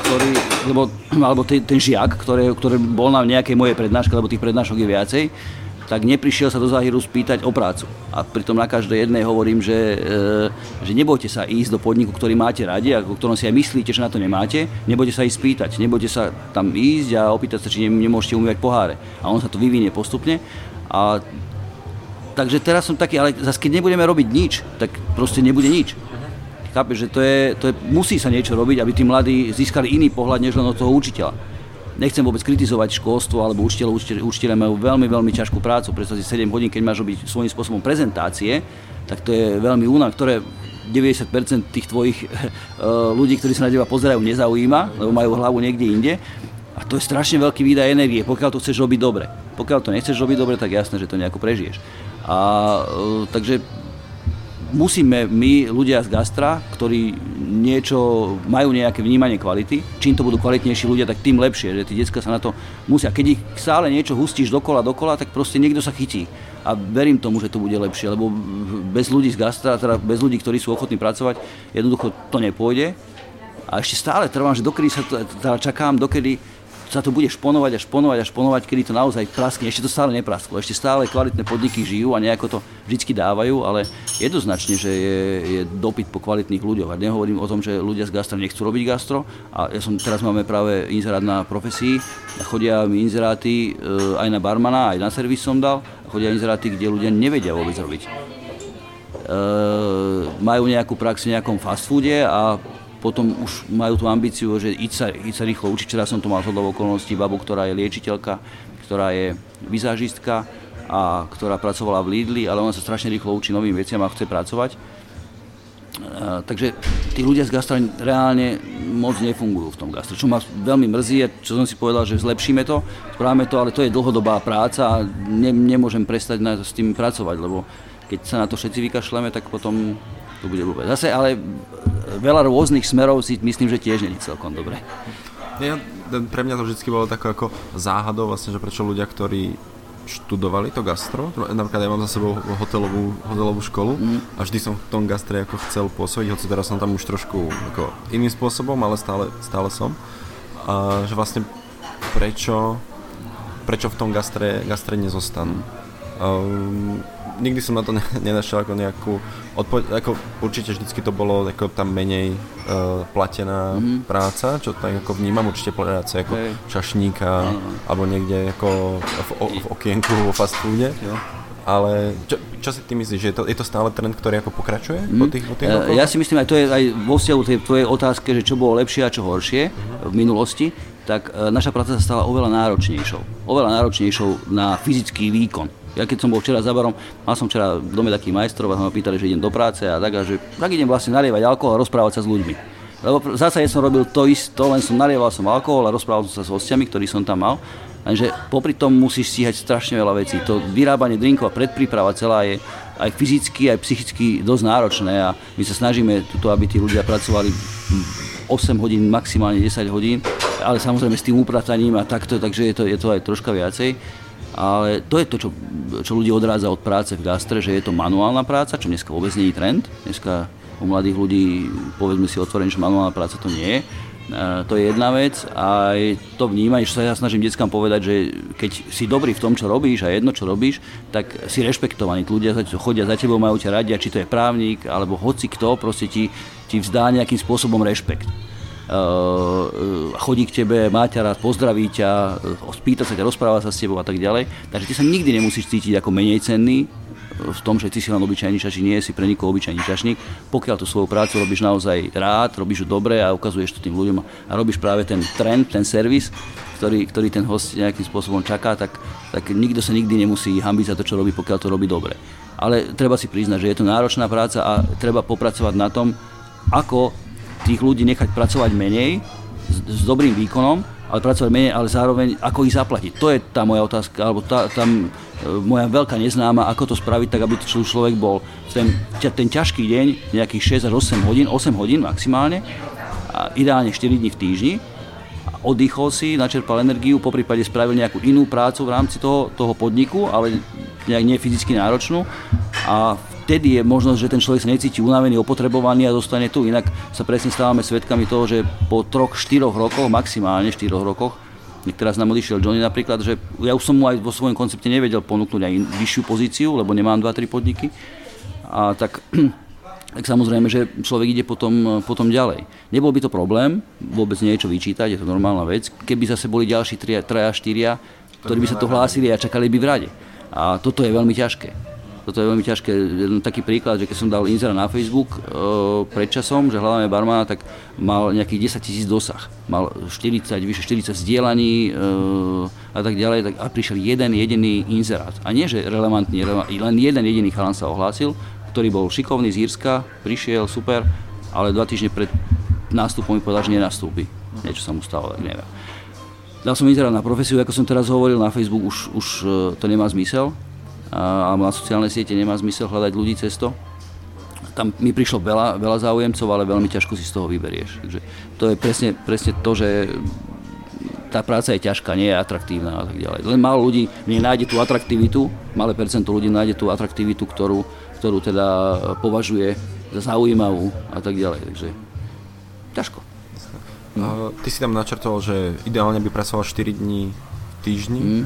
alebo ten žiak, ktorý bol na nejakej mojej prednáške, lebo tých prednášok je viacej, tak neprišiel sa do Záhiru spýtať o prácu. A pritom na každej jednej hovorím, že nebojte sa ísť do podniku, ktorý máte radi a o ktorom si aj myslíte, že na to nemáte, nebojte sa ísť spýtať, nebojte sa tam ísť a opýtať sa, či nemôžete umývať poháre. A on sa to vyvinie postupne. A takže teraz som taký, ale zase keď nebudeme robiť nič, tak proste nebude nič. Chápeš, že to je, musí sa niečo robiť, aby tí mladí získali iný pohľad, než len od toho učiteľa. Nechcem vôbec kritizovať školstvo alebo učiteľov. Učiteľe majú veľmi, veľmi ťažkú prácu. Predstav si 7 hodín, keď máš robiť svojím spôsobom prezentácie, tak to je veľmi únavné, ktoré 90% tých tvojich ľudí, ktorí sa na teba pozerajú, nezaujíma, lebo majú hlavu niekde inde. A to je strašne veľký výdaj energie, pokiaľ to chceš robiť dobre. Pokiaľ to nechceš robiť dobre, tak jasné, že to nejako prežiješ. Takže musíme my, ľudia z gastra, ktorí majú nejaké vnímanie kvality, čím to budú kvalitnejší ľudia, tak tým lepšie, že tí decká sa na to musia. Keď ich stále niečo hustíš dokola, tak proste niekto sa chytí. A verím tomu, že to bude lepšie, lebo bez ľudí z gastra, teda bez ľudí, ktorí sú ochotní pracovať, jednoducho to nepôjde. A ešte stále trvám, že čakám, dokedy sa to bude šponovať, kedy to naozaj praskne. Ešte to stále neprasklo. Ešte stále kvalitné podniky žijú a nejako to vždycky dávajú, ale jednoznačne, že je dopyt po kvalitných ľuďoch. A nehovorím o tom, že ľudia z gastra nechcú robiť gastro. A teraz máme práve inzerát na profesii. A chodia mi inzeráty aj na barmana, aj na servis som dal. A chodia inzeráty, kde ľudia nevedia vôbec robiť. Majú nejakú prax v nejakom fast foode a potom už majú tú ambíciu, že ísť sa rýchlo učiť. Včera som to mal zhodou okolností babu, ktorá je liečiteľka, ktorá je vizážistka a ktorá pracovala v Lidli, ale ona sa strašne rýchlo učí novým veciam a chce pracovať. Takže tí ľudia z gastra reálne moc nefungujú v tom gastre, čo ma veľmi mrzí, čo som si povedal, že zlepšíme to, správame to, ale to je dlhodobá práca a nemôžem prestať s tým pracovať, lebo keď sa na to všetci vykašľame, tak potom to bude blbé. Zase, ale veľa rôznych smerov si myslím, že tiež nie je celkom dobre. Pre mňa to vždy bolo také ako záhadou, vlastne, že prečo ľudia, ktorí študovali to gastro, napríklad ja mám za sebou hotelovú školu a vždy som v tom gastre ako chcel pôsobiť, hoci teraz som tam už trošku ako iným spôsobom, ale stále som. A že vlastne prečo v tom gastre nezostanú. Nikdy som na to nenašiel ako nejakú odpoveď, ako určite vždycky to bolo ako tam menej platená práca, čo tak ako vnímam, určite práce ako čašníka alebo niekde ako v okienku vo fast foode. Ale čo si ty myslíš, že je to stále trend, ktorý ako pokračuje po tých rokoch? Ja si myslím, aj to je aj vo vzťahu tej tvojej otázke, že čo bolo lepšie a čo horšie v minulosti, tak naša práca sa stala oveľa náročnejšou na fyzický výkon. Ja keď som bol včera za barom, mal som včera v dome takých majstrov a ma pýtali, že idem do práce a tak idem vlastne nalievať alkohol a rozprávať sa s ľuďmi. Lebo zase som robil to isto, len som nalieval som alkohol a rozprával som sa s hostiami, ktorí som tam mal. Takže popri tom musíš stíhať strašne veľa vecí. To vyrábanie drinkov a predpríprava celá je aj fyzicky, aj psychicky dosť náročné a my sa snažíme tuto, aby tí ľudia pracovali 8 hodín, maximálne 10 hodín, ale samozrejme s tým uprataním a takto, takže je to aj troška viacej. Ale to je to, čo ľudí odrádza od práce v gastre, že je to manuálna práca, čo dneska vôbec nie je trend. Dneska u mladých ľudí, povedzme si otvorene, že manuálna práca to nie je. To je jedna vec a to vnímanie, že sa ja snažím deckám povedať, že keď si dobrý v tom, čo robíš a jedno, čo robíš, tak si rešpektovaný. Ľudia chodia za tebou, majú ťa radi, či to je právnik, alebo hoci kto, proste ti vzdá nejakým spôsobom rešpekt. Chodí k tebe, má ťa rád, pozdraví ťa, spýta sa ťa, rozpráva sa s tebou a tak ďalej. Takže ty sa nikdy nemusíš cítiť ako menej cenný v v tom, že ty si len obyčajný čašník, nie si pre nikoho obyčajný čašník. Pokiaľ tú svoju prácu robíš naozaj rád, robíš ju dobre a ukazuješ to tým ľuďom a robíš práve ten trend, ten servis, ktorý ten host nejakým spôsobom čaká, tak nikto sa nikdy nemusí hanbiť za to, čo robí, pokiaľ to robí dobre. Ale treba si priznať, že je to náročná práca a treba popracovať na tom, ako tých ľudí nechať pracovať menej, s dobrým výkonom, ale pracovať menej, ale zároveň ako ich zaplatiť. To je tá moja otázka, alebo moja veľká neznáma, ako to spraviť tak, aby človek bol ten ťažký deň, nejakých 6 až 8 hodín maximálne, a ideálne 4 dní v týždni, oddychol si, načerpal energiu, poprípade spravil nejakú inú prácu v rámci toho podniku, ale nejak nie fyzicky náročnú a vtedy je možnosť, že ten človek sa necíti unavený, opotrebovaný a dostane tu. Inak sa presne stávame svedkami toho, že po 3-4 rokoch, maximálne 4 rokoch, teraz nám odišiel Johnny napríklad, že ja už som mu aj vo svojom koncepte nevedel ponúknuť aj vyššiu pozíciu, lebo nemám 2-3 podniky. A tak samozrejme, že človek ide potom ďalej. Nebol by to problém, vôbec nie je čo vyčítať, je to normálna vec, keby zase boli ďalší 3-4, ktorí by sa to hlásili a čakali by v rade. A toto je veľmi ťažké. Jeden taký príklad, že keď som dal inzerát na Facebook pred časom, že hľadáme barmana, tak mal nejakých 10 000 dosah. Mal vyše 40 zdieľaní a tak ďalej. A prišiel jeden jediný inzerát. A nie, že relevantný, len jeden jediný chalan sa ohlásil, ktorý bol šikovný z Írska, prišiel, super, ale 2 týždne pred nástupom mi povedal, že nenastúpi. Niečo sa mu stalo, tak neviem. Dal som inzerát na profesiu, ako som teraz hovoril, na Facebook už to nemá zmysel. Alebo na sociálne siete nemá zmysel hľadať ľudí cez to. Tam mi prišlo veľa záujemcov, ale veľmi ťažko si z toho vyberieš. Takže to je presne to, že tá práca je ťažká, nie je atraktívna a tak ďalej. Len málo ľudí nájde tú atraktivitu, malé percento ľudí nájde tú atraktivitu, ktorú teda považuje za zaujímavú a tak ďalej. Takže ťažko. Ty si tam načrtol, že ideálne by pracoval 4 dní v týždni.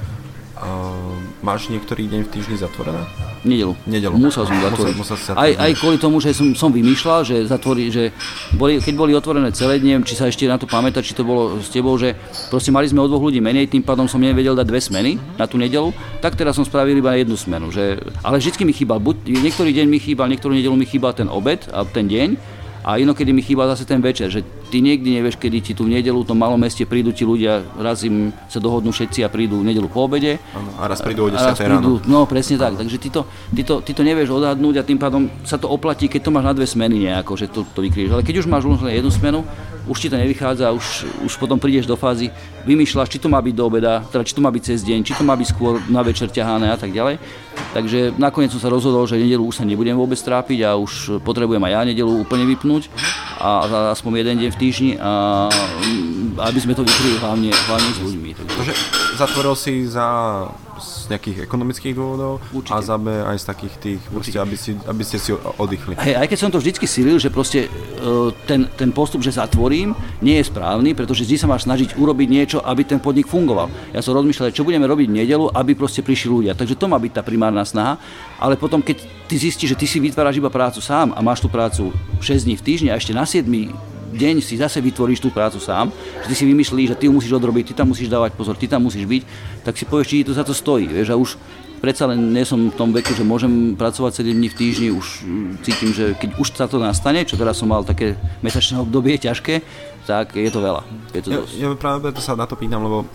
Máš niektorý deň v týždni zatvorené? Nedelu. Musel som zatvoriť. Aj kvôli tomu, že som vymýšľal, že keď boli otvorené celé dni, či sa ešte na to pamätá, či to bolo s tebou, že proste mali sme o 2 ľudí menej, tým pádom som nevedel dať 2 smeny na tú nedelu, tak teraz som spravil iba 1 smenu. Ale vždycky mi chýbal, niektorý deň mi chýbal, niektorú nedelu mi chýbal ten obed a ten deň, a inokedy mi chýba zase ten večer, že ty nikdy nevieš, kedy ti tu v nedeľu v tom malom meste prídu ti ľudia, raz im sa dohodnú všetci a prídu v nedeľu po obede. A raz prídu o 10 ráno. No presne tak, takže ty to nevieš odhadnúť a tým pádom sa to oplatí, keď to máš na 2 smeny nejako, že to vykryješ. Ale keď už máš len 1 smenu, už ti to nevychádza, už potom prídeš do fázy, vymýšľaš, či to má byť do obeda, teda či to má byť cez deň, či to má byť skôr na večer ťahané a tak ďalej. Takže nakoniec som sa rozhodol, že nedeľu už sa nebudem vôbec trápiť a už potrebujem aj ja nedeľu úplne vypnúť a aspoň 1 deň v týždni a aby sme to vykryli hlavne s ľuďmi. Takže zatvoril si z nejakých ekonomických dôvodov. Určite. A za B aj z takých tých, proste, aby ste si oddychli. Aj keď som to vždycky silil, že proste ten postup, že zatvorím, nie je správny, pretože vždy sa máš snažiť urobiť niečo, aby ten podnik fungoval. Ja som rozmýšľal, čo budeme robiť v nedeľu, aby proste prišli ľudia. Takže to má byť tá primárna snaha, ale potom keď ty zistíš, že ty si vytváraš iba prácu sám a máš tú prácu 6 dní v týždni a ešte na 7 deň si zase vytvoríš tú prácu sám, že ty si vymyšlíš, že ty ju musíš odrobiť, ty tam musíš dávať pozor, ty tam musíš byť, tak si povieš, či to za to stojí, vieš, a už predsa len nie som v tom veku, že môžem pracovať 7 dní v týždni, už cítim, že keď už sa to nastane, čo teraz som mal také mesačné obdobie ťažké, tak je to veľa. Ja práve preto sa na to pýtam, lebo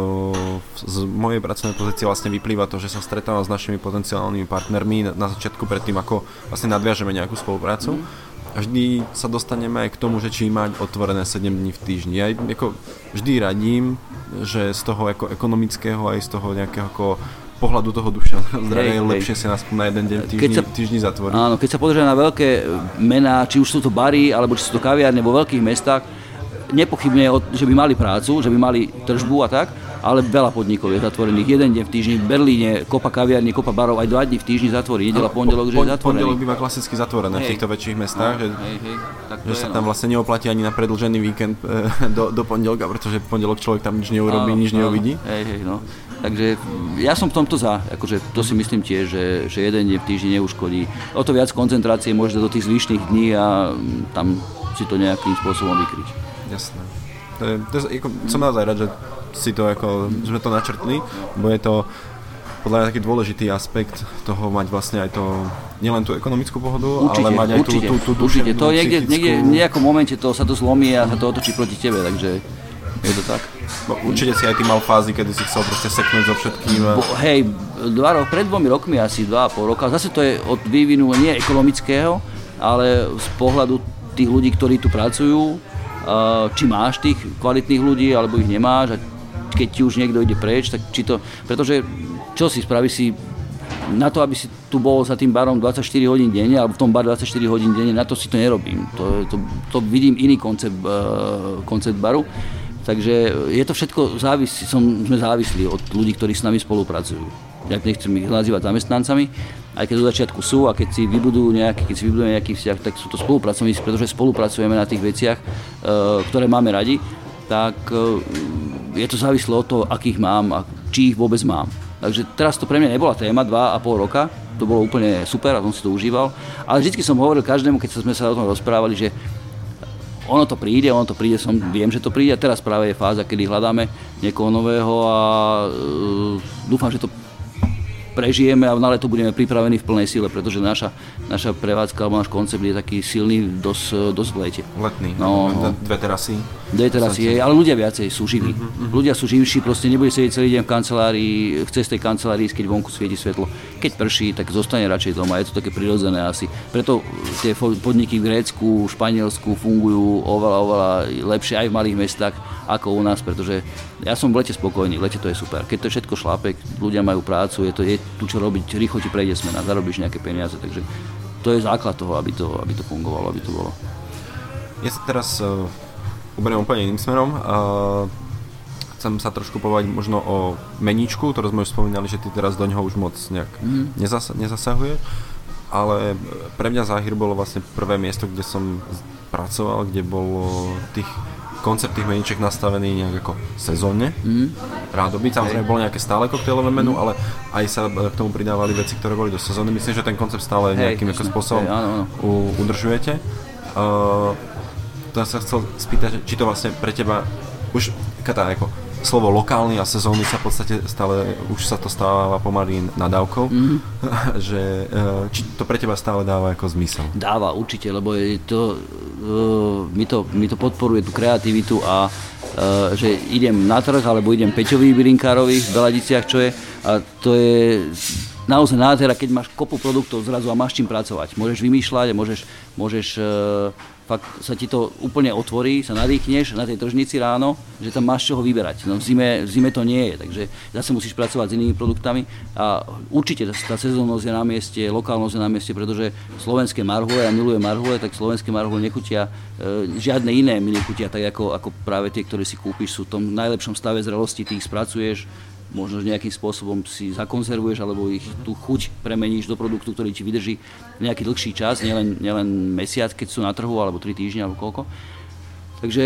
z mojej pracovnej pozície vlastne vyplýva to, že sa stretávam s našimi potenciálnymi partnermi na začiatku predtým, ako vlastne nadviažeme nejakú spoluprácu. A vždy sa dostaneme aj k tomu, že či mať otvorené 7 dní v týždni. Ja vždy radím, že z toho ako ekonomického aj z toho nejakého ako pohľadu toho duševného zdravia je lepšie si nás na 1 deň v týždni zatvoriť. Áno, keď sa pozrieme na veľké mená, či už sú to bary, alebo či sú to kaviárne vo veľkých mestách, nepochybne, že by mali prácu, že by mali tržbu a tak, ale veľa podnikov je zatvorených 1 deň v týždni. V Berlíne kopa kaviarní, kopa barov aj 2 dní v týždni zatvorí. Nedeľa, pondelok, že je zatvorený. Pondelok býva klasicky zatvorené v týchto väčších mestách, že sa tam vlastne neoplatí ani na predĺžený víkend do pondelka, pretože v pondelok človek tam nič neurobí, nič neuvidí. Takže ja som v tomto za, akože to si myslím tiež, že 1 deň v týždni neuškodí. O to viac koncentrácie môžete do tých zvyšných dní a tam si to nejakým spôsobom vykryť. Jasné. Som naozaj rád, že si to sme to načrtli, bo je to podľa mňa taký dôležitý aspekt toho mať vlastne aj to, nielen tú ekonomickú pohodu, určite, ale mať aj tú duševnú, to niekde v nejakom momente sa to zlomí a sa to otočí proti tebe, takže je to tak. Určite si aj ty mal fázy, kedy si chcel proste seknúť so všetkým. Hej, pred 2 rokmi, asi 2,5 roka, zase to je od vývinu nie ekonomického, ale z pohľadu tých ľudí, ktorí tu pracujú, či máš tých kvalitných ľudí, alebo ich nemáš, a keď ti už niekto ide preč, tak či to, pretože čo si spraví si na to, aby si tu bol za tým barom 24 hodín denne, alebo v tom bar 24 hodín denne, na to si to nerobím. To vidím iný koncept baru. Takže je to všetko sme závislí od ľudí, ktorí s nami spolupracujú. Ja nechcem ich nazývať zamestnancami, aj keď do začiatku sú, a keď si vybudujeme nejaký vzťah, tak sú to spolupracovníci, pretože spolupracujeme na tých veciach, ktoré máme radi, tak je to závislé od toho, akých mám a či ich vôbec mám. Takže teraz to pre mňa nebola téma 2,5 roka, to bolo úplne super a som si to užíval, ale vždycky som hovoril každému, keď sme sa o tom rozprávali, že ono to príde, viem, že to príde, a teraz práve je fáza, kedy hľadáme niekoho nového a dúfam, že to prežijeme a na leto budeme pripravení v plnej sile, pretože naša prevádzka alebo náš koncept je taký silný dosť v lete. Letný, dve terasy, ale ľudia viacej sú živí. Ľudia sú živší, proste nebude sedieť celý deň v kancelárii, chce z tej kancelárii, keď vonku svieti svetlo. Keď prší, tak zostane radšej doma, je to také prirodzené asi. Preto tie podniky v Grécku, Španielsku fungujú oveľa lepšie aj v malých mestách ako u nás, pretože ja som v lete spokojný, v lete to je super. Keď to je všetko šlápek, ľudia majú prácu, je tu čo robiť, rýchlo ti prejde smena, zarobíš nejaké peniaze, takže to je základ toho, aby to fungovalo, aby to bolo. Ja sa teraz uberiem úplne iným smerom. Chcem sa trošku povedať možno o meníčku, ktorú sme už spomínali, že ty teraz do ňoho už moc nejak nezasahuje, ale pre mňa Záhir bolo vlastne prvé miesto, kde som pracoval, kde bolo koncept tých meníček nastavený nejak ako sezónne. Rádoby, samozrejme bolo nejaké stále koktejlové menu, ale aj sa k tomu pridávali veci, ktoré boli do sezóny. Myslím, že ten koncept stále nejakým spôsobom udržujete. To sa chcel spýtať, či to vlastne pre teba už ako slovo lokálny a sezónny sa v podstate stále, už sa to stáva pomaly nadávkou, že či to pre teba stále dáva ako zmysel? Dáva, určite, lebo je to, mi to podporuje tú kreativitu a že idem na trh, alebo idem Peťovi bylinkárovi v Beladiciach, čo je, a to je naozaj nádhera, keď máš kopu produktov zrazu a máš čím pracovať. Môžeš vymýšľať a môžeš fakt sa ti to úplne otvorí, sa nadýchneš na tej tržnici ráno, že tam máš čoho vyberať. No v zime to nie je, takže zase musíš pracovať s inými produktami a určite tá sezónnosť je na mieste, lokálnosť je na mieste, pretože slovenské marhule, ja milujem marhule, tak slovenské marhule nechutia, žiadne iné mi nechutia, tak ako práve tie, ktoré si kúpiš, sú v tom najlepšom stave zrelosti, ty ich spracuješ, možno nejakým spôsobom si zakonzervuješ alebo ich tú chuť premeníš do produktu, ktorý ti vydrží nejaký dlhší čas, nielen mesiac, keď sú na trhu, alebo 3 týždne, alebo koľko. Takže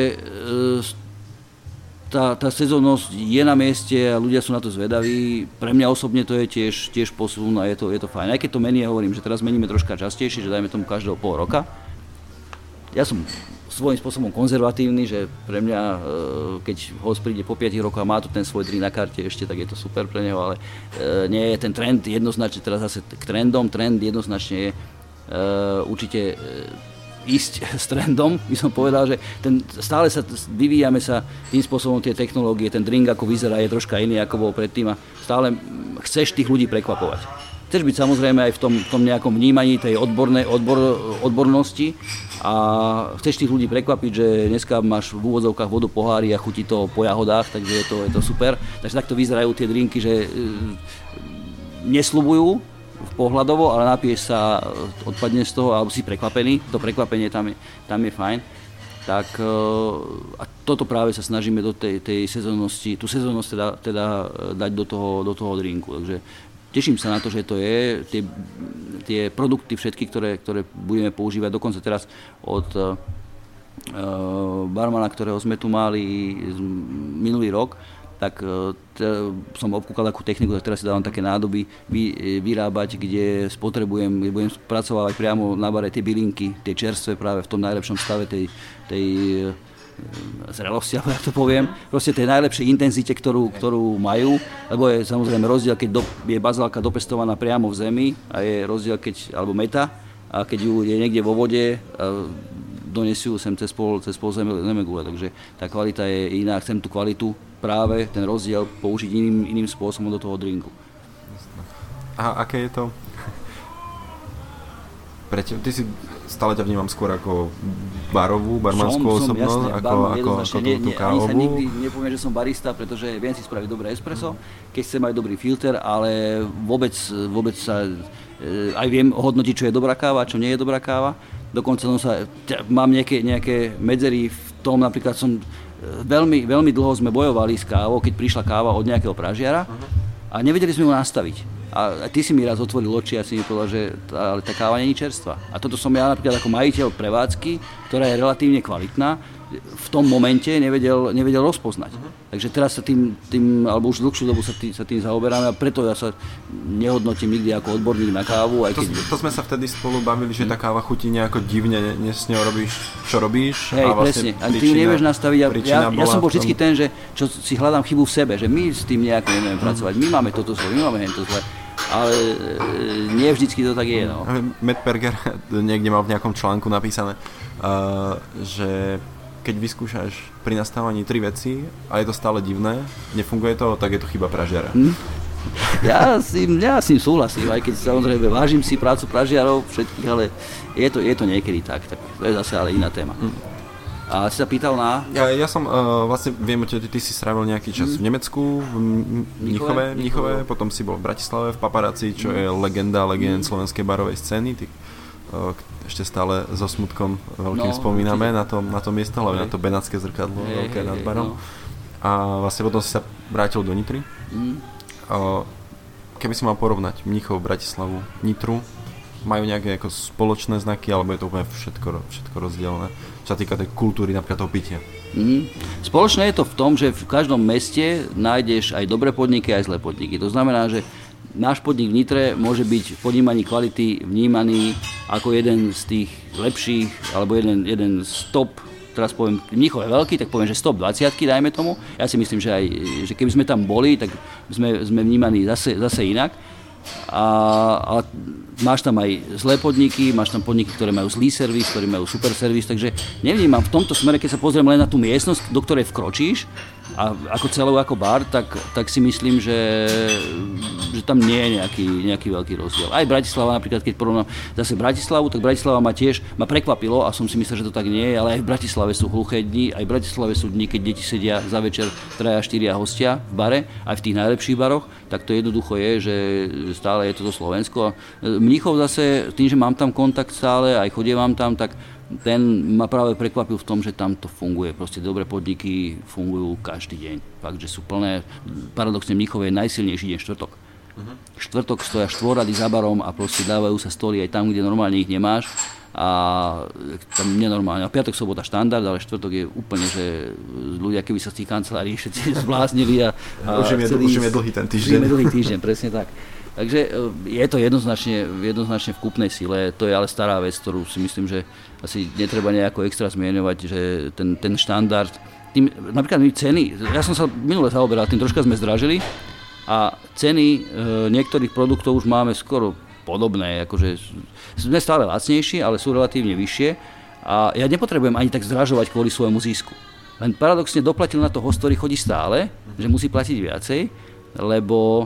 tá sezónnosť je na mieste a ľudia sú na to zvedaví. Pre mňa osobne to je tiež posun a je to fajn. Aj keď to mení, ja hovorím, že teraz meníme troška častejšie, že dajme tomu každého pol roka. Ja som svojím spôsobom konzervatívny, že pre mňa, keď host príde po 5 rokoch a má tu ten svoj drink na karte ešte, tak je to super pre neho, ale nie je ten trend jednoznačne, teraz zase k trendom, trend jednoznačne je určite ísť s trendom, by som povedal, že stále vyvíjame sa tým spôsobom, tie technológie, ten drink ako vyzerá je troška iný ako bol predtým a stále chceš tých ľudí prekvapovať. Chceš byť samozrejme aj v tom nejakom vnímaní tej odbornosti a chceš tých ľudí prekvapiť, že dneska máš v úvodzovkách vodu pohári a chutí to po jahodách, takže je to super. Takže takto vyzerajú tie drinky, že nesľubujú pohľadovo, ale napiješ sa, odpadneš z toho alebo si prekvapený. To prekvapenie tam je fajn. Tak a toto práve sa snažíme do tej sezónnosti, tú sezónnosť teda dať do toho drinku. Takže teším sa na to, že to je, tie produkty všetky, ktoré budeme používať, dokonca teraz od barmana, ktorého sme tu mali minulý rok, tak som obkúkal takú techniku, tak teraz si dávam také nádoby vyrábať, kde budem spracovávať priamo na bare tie bylinky, tie čerstvé práve v tom najlepšom stave tej zrelosti, alebo tak to poviem, proste tej najlepšej intenzite, ktorú majú, lebo je samozrejme rozdiel, keď je bazálka dopestovaná priamo v zemi a je rozdiel, alebo meta, a keď ju je niekde vo vode, donesú sem cez pol zemegule, takže tá kvalita je iná, chcem tú kvalitu, práve ten rozdiel použiť iným spôsobom do toho drinku. A aké je to? Ty si stále ťa vnímam skôr ako barmanskú osobnosť, jasné, ako tú kávovú. Ani sa nikdy nepoviem, že som barista, pretože viem si spraviť dobré espresso, keď chcem mať dobrý filter, ale vôbec sa aj viem hodnotiť, čo je dobrá káva, čo nie je dobrá káva. Dokonca mám nejaké medzery v tom, napríklad veľmi, veľmi dlho sme bojovali s kávou, keď prišla káva od nejakého pražiara a nevedeli sme ju nastaviť. A ty si mi raz otvoril oči a si mi povedal, že tá káva nie je čerstvá. A toto som ja napríklad ako majiteľ prevádzky, ktorá je relatívne kvalitná, v tom momente nevedel rozpoznať. Takže teraz sa tým, alebo už dlhšiu dobu sa tým zaoberáme a preto ja sa nehodnotím nikdy ako odborník na kávu. Aj keď... To sme sa vtedy spolu bavili, že tá káva chutí nejako divne, s ňou robíš, čo robíš. Hej, a vlastne presne. A ty nevieš nastaviť. Ja som bol vždy ten, že čo si hľadám chybu v sebe, že my s tým nejako nevieme pracovať. My máme toto zle, my máme hento zle. Ale nie vždycky to tak je. No. Matt Perger niekde mal v nejakom článku napísané, že keď vyskúšaš pri nastávaní 3 veci a je to stále divné, nefunguje to, tak je to chyba pražiara. Ja s tým súhlasím, aj keď samozrejme vážim si prácu pražiarov všetkých, ale je to niekedy tak to je zase ale iná téma. A si sa pýtal na... Ja som vlastne, viem, že ty si strávil nejaký čas v Nemecku, v Mníchove, potom si bol v Bratislave, v Paparazzi, čo je legend slovenskej barovej scény. Ešte stále so smutkom veľkým spomíname na to miesto, hlavne na to benátske zrkadlo, veľké nad barom. A vlastne potom si sa vrátil do Nitry. Keby si mal porovnať Mníchov, Bratislavu, Nitru, majú nejaké ako spoločné znaky, alebo je to úplne všetko rozdielne, čo sa týka tej kultúry, napríklad toho pitia? Spoločné je to v tom, že v každom meste nájdeš aj dobré podniky, aj zlé podniky. To znamená, že náš podnik v Nitre môže byť v ponímaní kvality vnímaný ako jeden z tých lepších, alebo jeden z top, teraz poviem, Mníchov je veľký, tak poviem, že stop 20-ky, dajme tomu. Ja si myslím, že keby sme tam boli, tak sme vnímaní zase inak. Ale máš tam aj zlé podniky, máš tam podniky, ktoré majú zlý servis, ktoré majú super servis, takže nevnímam v tomto smere, keď sa pozriem len na tú miestnosť, do ktorej vkročíš a ako celou ako bar, tak si myslím, že tam nie je nejaký veľký rozdiel. Aj Bratislava napríklad, keď porovnám zase Bratislavu, tak Bratislava ma prekvapilo a som si myslel, že to tak nie je, ale aj v Bratislave sú hluché dni, aj v Bratislave sú dni, keď deti sedia za večer 3-4 hostia v bare, aj v tých najlepších baroch, tak to jednoducho je, že stále je toto Slovensko. Mníchov zase, tým, že mám tam kontakt stále, aj chodievam tam, tak ten ma práve prekvapil v tom, že tam to funguje. Proste dobré podniky fungujú každý deň. Fakt, že sú plné. Paradoxne Mníchov je najsilnejší deň štvrtok. Štvrtok stoja štvorrady za barom a proste dávajú sa stoly aj tam, kde normálne ich nemáš. A tam nenormálne. A piatok, sobota štandard, ale štvrtok je úplne, že ľudia, keby sa z tých kancelárií všetci zbláznili a už im je dlhý ten týždeň. Už im je dlhý týždeň, presne tak. Takže je to jednoznačne v kúpnej sile, to je ale stará vec, ktorú si myslím, že asi netreba nejako extra zmieňovať, že ten štandard, napríklad ceny, ja som sa minule zaoberal, tým troška sme zdražili a ceny niektorých produktov už máme skoro podobné, akože sme stále lacnejší, ale sú relatívne vyššie a ja nepotrebujem ani tak zdražovať kvôli svojmu zisku. Len paradoxne doplatil na to host, ktorý chodí stále, že musí platiť viacej, lebo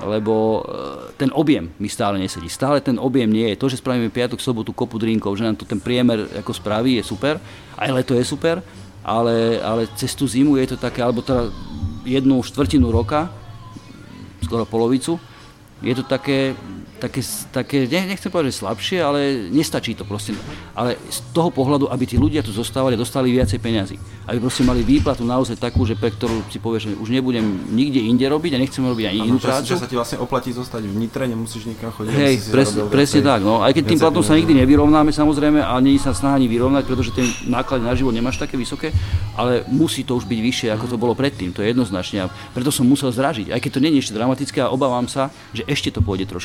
ten objem mi stále nesedí. Stále ten objem nie je. To, že spravíme piatok, sobotu kopu drinkov, že nám to ten priemer ako spraví, je super. Aj leto je super, ale cez tú zimu je to také, alebo teda 1/4 roka, skoro polovicu, je to také, nechcem povedať, že slabšie, ale nestačí to proste. Ale z toho pohľadu, aby tí ľudia tu zostávali a dostali viacej peňazí. Aby proste mali výplatu naozaj takú, že pre ktorú si povieš, že už nebudem nikde inde robiť a nechcem robiť ani inú prácu. Že sa ti vlastne oplatí zostať v Nitre, nemusíš nikam chodiť. Hej, presne tak. No. Aj keď tým platom sa nikdy nevyrovnáme samozrejme, a nie je sa snaha ani vyrovnať, pretože tie náklady na život nemáš také vysoké, ale musí to už byť vyššie, ako to bolo predtým. To je jednoznačne. A preto som musel zdražiť. Aj keď to nie je ešte dramatické a obávam sa, že ešte to pôjde troška vyššie.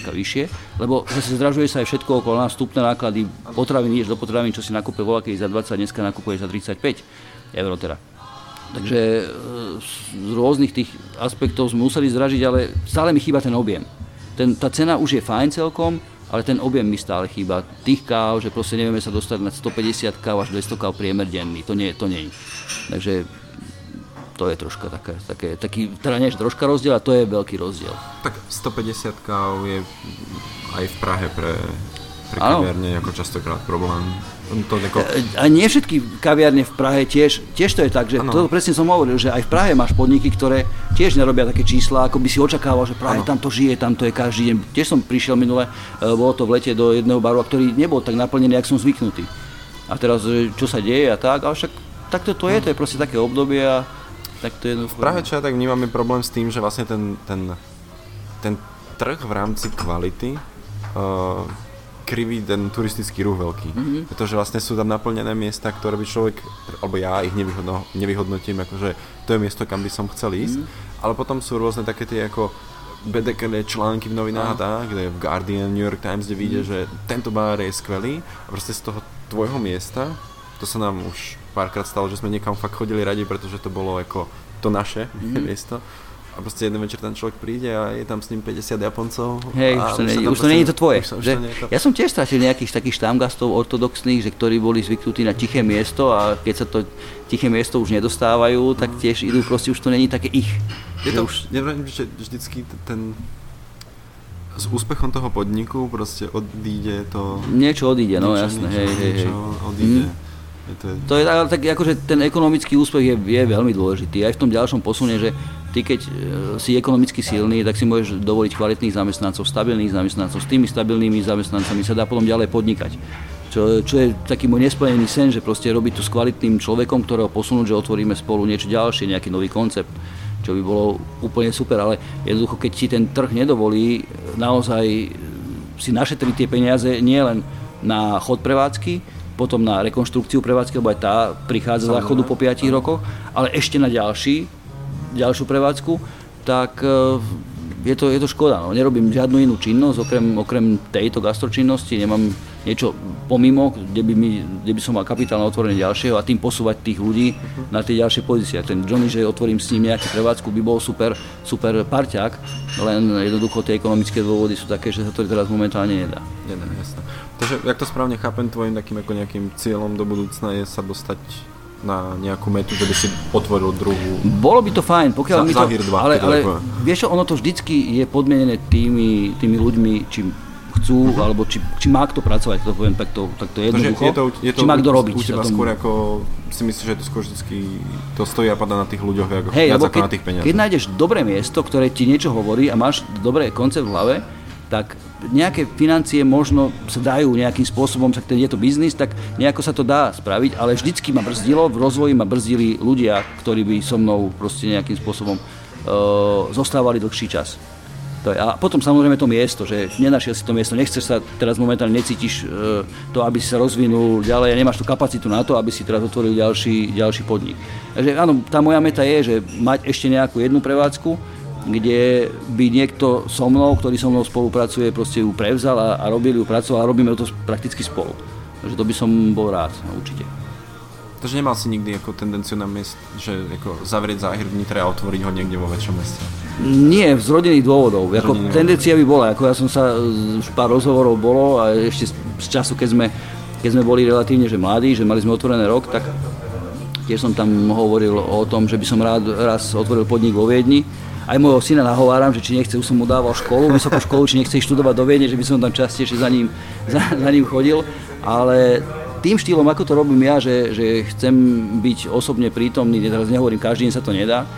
drahšie, lebo zase zdražuje sa aj všetko okolo nás, vstupné náklady, potraviny, ideš do potravín, čo si nakúpe volakedy za 20, dneska nakúpuješ za 35 eur teda. Takže z rôznych tých aspektov sme museli zdražiť, ale stále mi chýba ten objem. Tá cena už je fajn celkom, ale ten objem mi stále chýba. Tých káv, že proste nevieme sa dostať na 150 káv až 200 káv priemer denný. To nie je. Takže to je troška taký, teda nie je troška rozdiel, a to je veľký rozdiel. Tak 150 káv je aj v Prahe pre kaviarne ako častokrát problém. A nie všetky kaviarne v Prahe tiež to je tak, že to presne som hovoril, že aj v Prahe máš podniky, ktoré tiež nerobia také čísla, ako by si očakával, že Prahe tam to žije, tam to je každý deň. Tiež som prišiel minule, bolo to v lete do jedného baru, ktorý nebol tak naplnený, jak som zvyknutý. A teraz, čo sa deje a tak, ale však takto to je proste také obdobie a tak to je. V Prahe čo ja tak vnímame problém s tým, že vlastne ten trh v rámci kvality kriví ten turistický ruch veľký. Pretože vlastne sú tam naplnené miesta, ktoré by človek, alebo ja ich nevyhodnotím, akože to je miesto, kam by som chcel ísť, ale potom sú rôzne také tie ako BDKD články v novinách, kde v Guardian, New York Times, kde vyjde, že tento bar je skvelý a proste z toho tvojho miesta, to sa nám už párkrát stalo, že sme niekam fakt chodili radi, pretože to bolo ako to naše miesto. A proste jeden večer ten človek príde a je tam s ním 50 Japoncov. Hej, už to nie je to tvoje. Ja som tiež stratil nejakých takých štámgastov ortodoxných, ktorí boli zvyknutí na tiché miesto a keď sa to tiché miesto už nedostávajú, tak tiež idú, proste už to není také ich. Neviem, že vždycky s úspechom toho podniku proste odíde to... Niečo odíde, no jasné. Niečo odíde. To je tak, akože ten ekonomický úspech je veľmi dôležitý. Aj v tom ďalšom posune, že ty keď si ekonomicky silný, tak si môžeš dovoliť kvalitných zamestnancov, stabilných zamestnancov. S tými stabilnými zamestnancami sa dá potom ďalej podnikať. Čo je taký môj nesplnený sen, že proste robiť tu s kvalitným človekom, ktorého posunúť, že otvoríme spolu niečo ďalšie, nejaký nový koncept, čo by bolo úplne super, ale jednoducho, keď ti ten trh nedovolí naozaj si našetriť tie peniaze nie len na chod prevádzky, potom na rekonštrukciu prevádzky, lebo aj tá prichádza za chodu po 5 rokoch, ale ešte na ďalšiu prevádzku, tak je to škoda. No. Nerobím žiadnu inú činnosť, okrem tejto gastročinnosti, nemám niečo pomimo, kde by som mal kapitálne otvorenie ďalšieho a tým posúvať tých ľudí na tie ďalšie pozície. Ten Johnny, že otvorím s ním nejakú prevádzku, by bol super parťák, len jednoducho tie ekonomické dôvody sú také, že sa to teraz momentálne nedá. Jasné. Takže, jak to správne chápem, tvojim takým ako nejakým cieľom do budúcna je sa dostať na nejakú metu, že by si otvoril druhú... Bolo by to fajn, pokiaľ mi to... Zahir 2, ale vieš čo, ono to vždycky je podmienené tými ľuďmi, či chcú, alebo či má kto pracovať, to poviem takto jednoducho, či má kto robiť. U teba skôr ako si myslíš, že to skôr vždycky to stojí a padá na tých ľuďoch, viac ako na tých peniazoch. Keď nájdeš dobré miesto, ktoré ti niečo hovorí a máš dobrý koncept v hlave, tak nejaké financie možno sa dajú nejakým spôsobom, však je to biznis, tak nejako sa to dá spraviť, ale vždycky ma brzdilo, v rozvoji ma brzdili ľudia, ktorí by so mnou proste nejakým spôsobom zostávali dlhší čas. A potom samozrejme to miesto, že nenašiel si to miesto, nechceš sa teraz momentálne, necítiš to, aby si sa rozvinul ďalej a nemáš tú kapacitu na to, aby si teraz otvoril ďalší podnik. Takže áno, tá moja meta je, že mať ešte nejakú jednu prevádzku, kde by niekto so mnou, ktorý so mnou spolupracuje, proste ju prevzal a pracoval a robíme to prakticky spolu. Takže to by som bol rád, určite. Takže nemal si nikdy ako tendenciu na miest, že ako zavrieť Záhir v Nitre a otvoriť ho niekde vo väčšom meste? Nie, z rodinných dôvodov. Tendencia by bola, ako ja som sa, už pár rozhovorov bolo a ešte z času, keď sme boli relatívne že mladí, že mali sme otvorený rok, tak tiež som tam hovoril o tom, že by som rád raz otvoril podnik vo Viedni. Aj môjho syna nahováram, že či nechce, už som mu dával vysokú školu, či nechce študovať do Viedne, že by som tam častejšie za ním chodil, ale tým štýlom, ako to robím ja, že chcem byť osobne prítomný, teraz nehovorím, každý deň sa to nedá,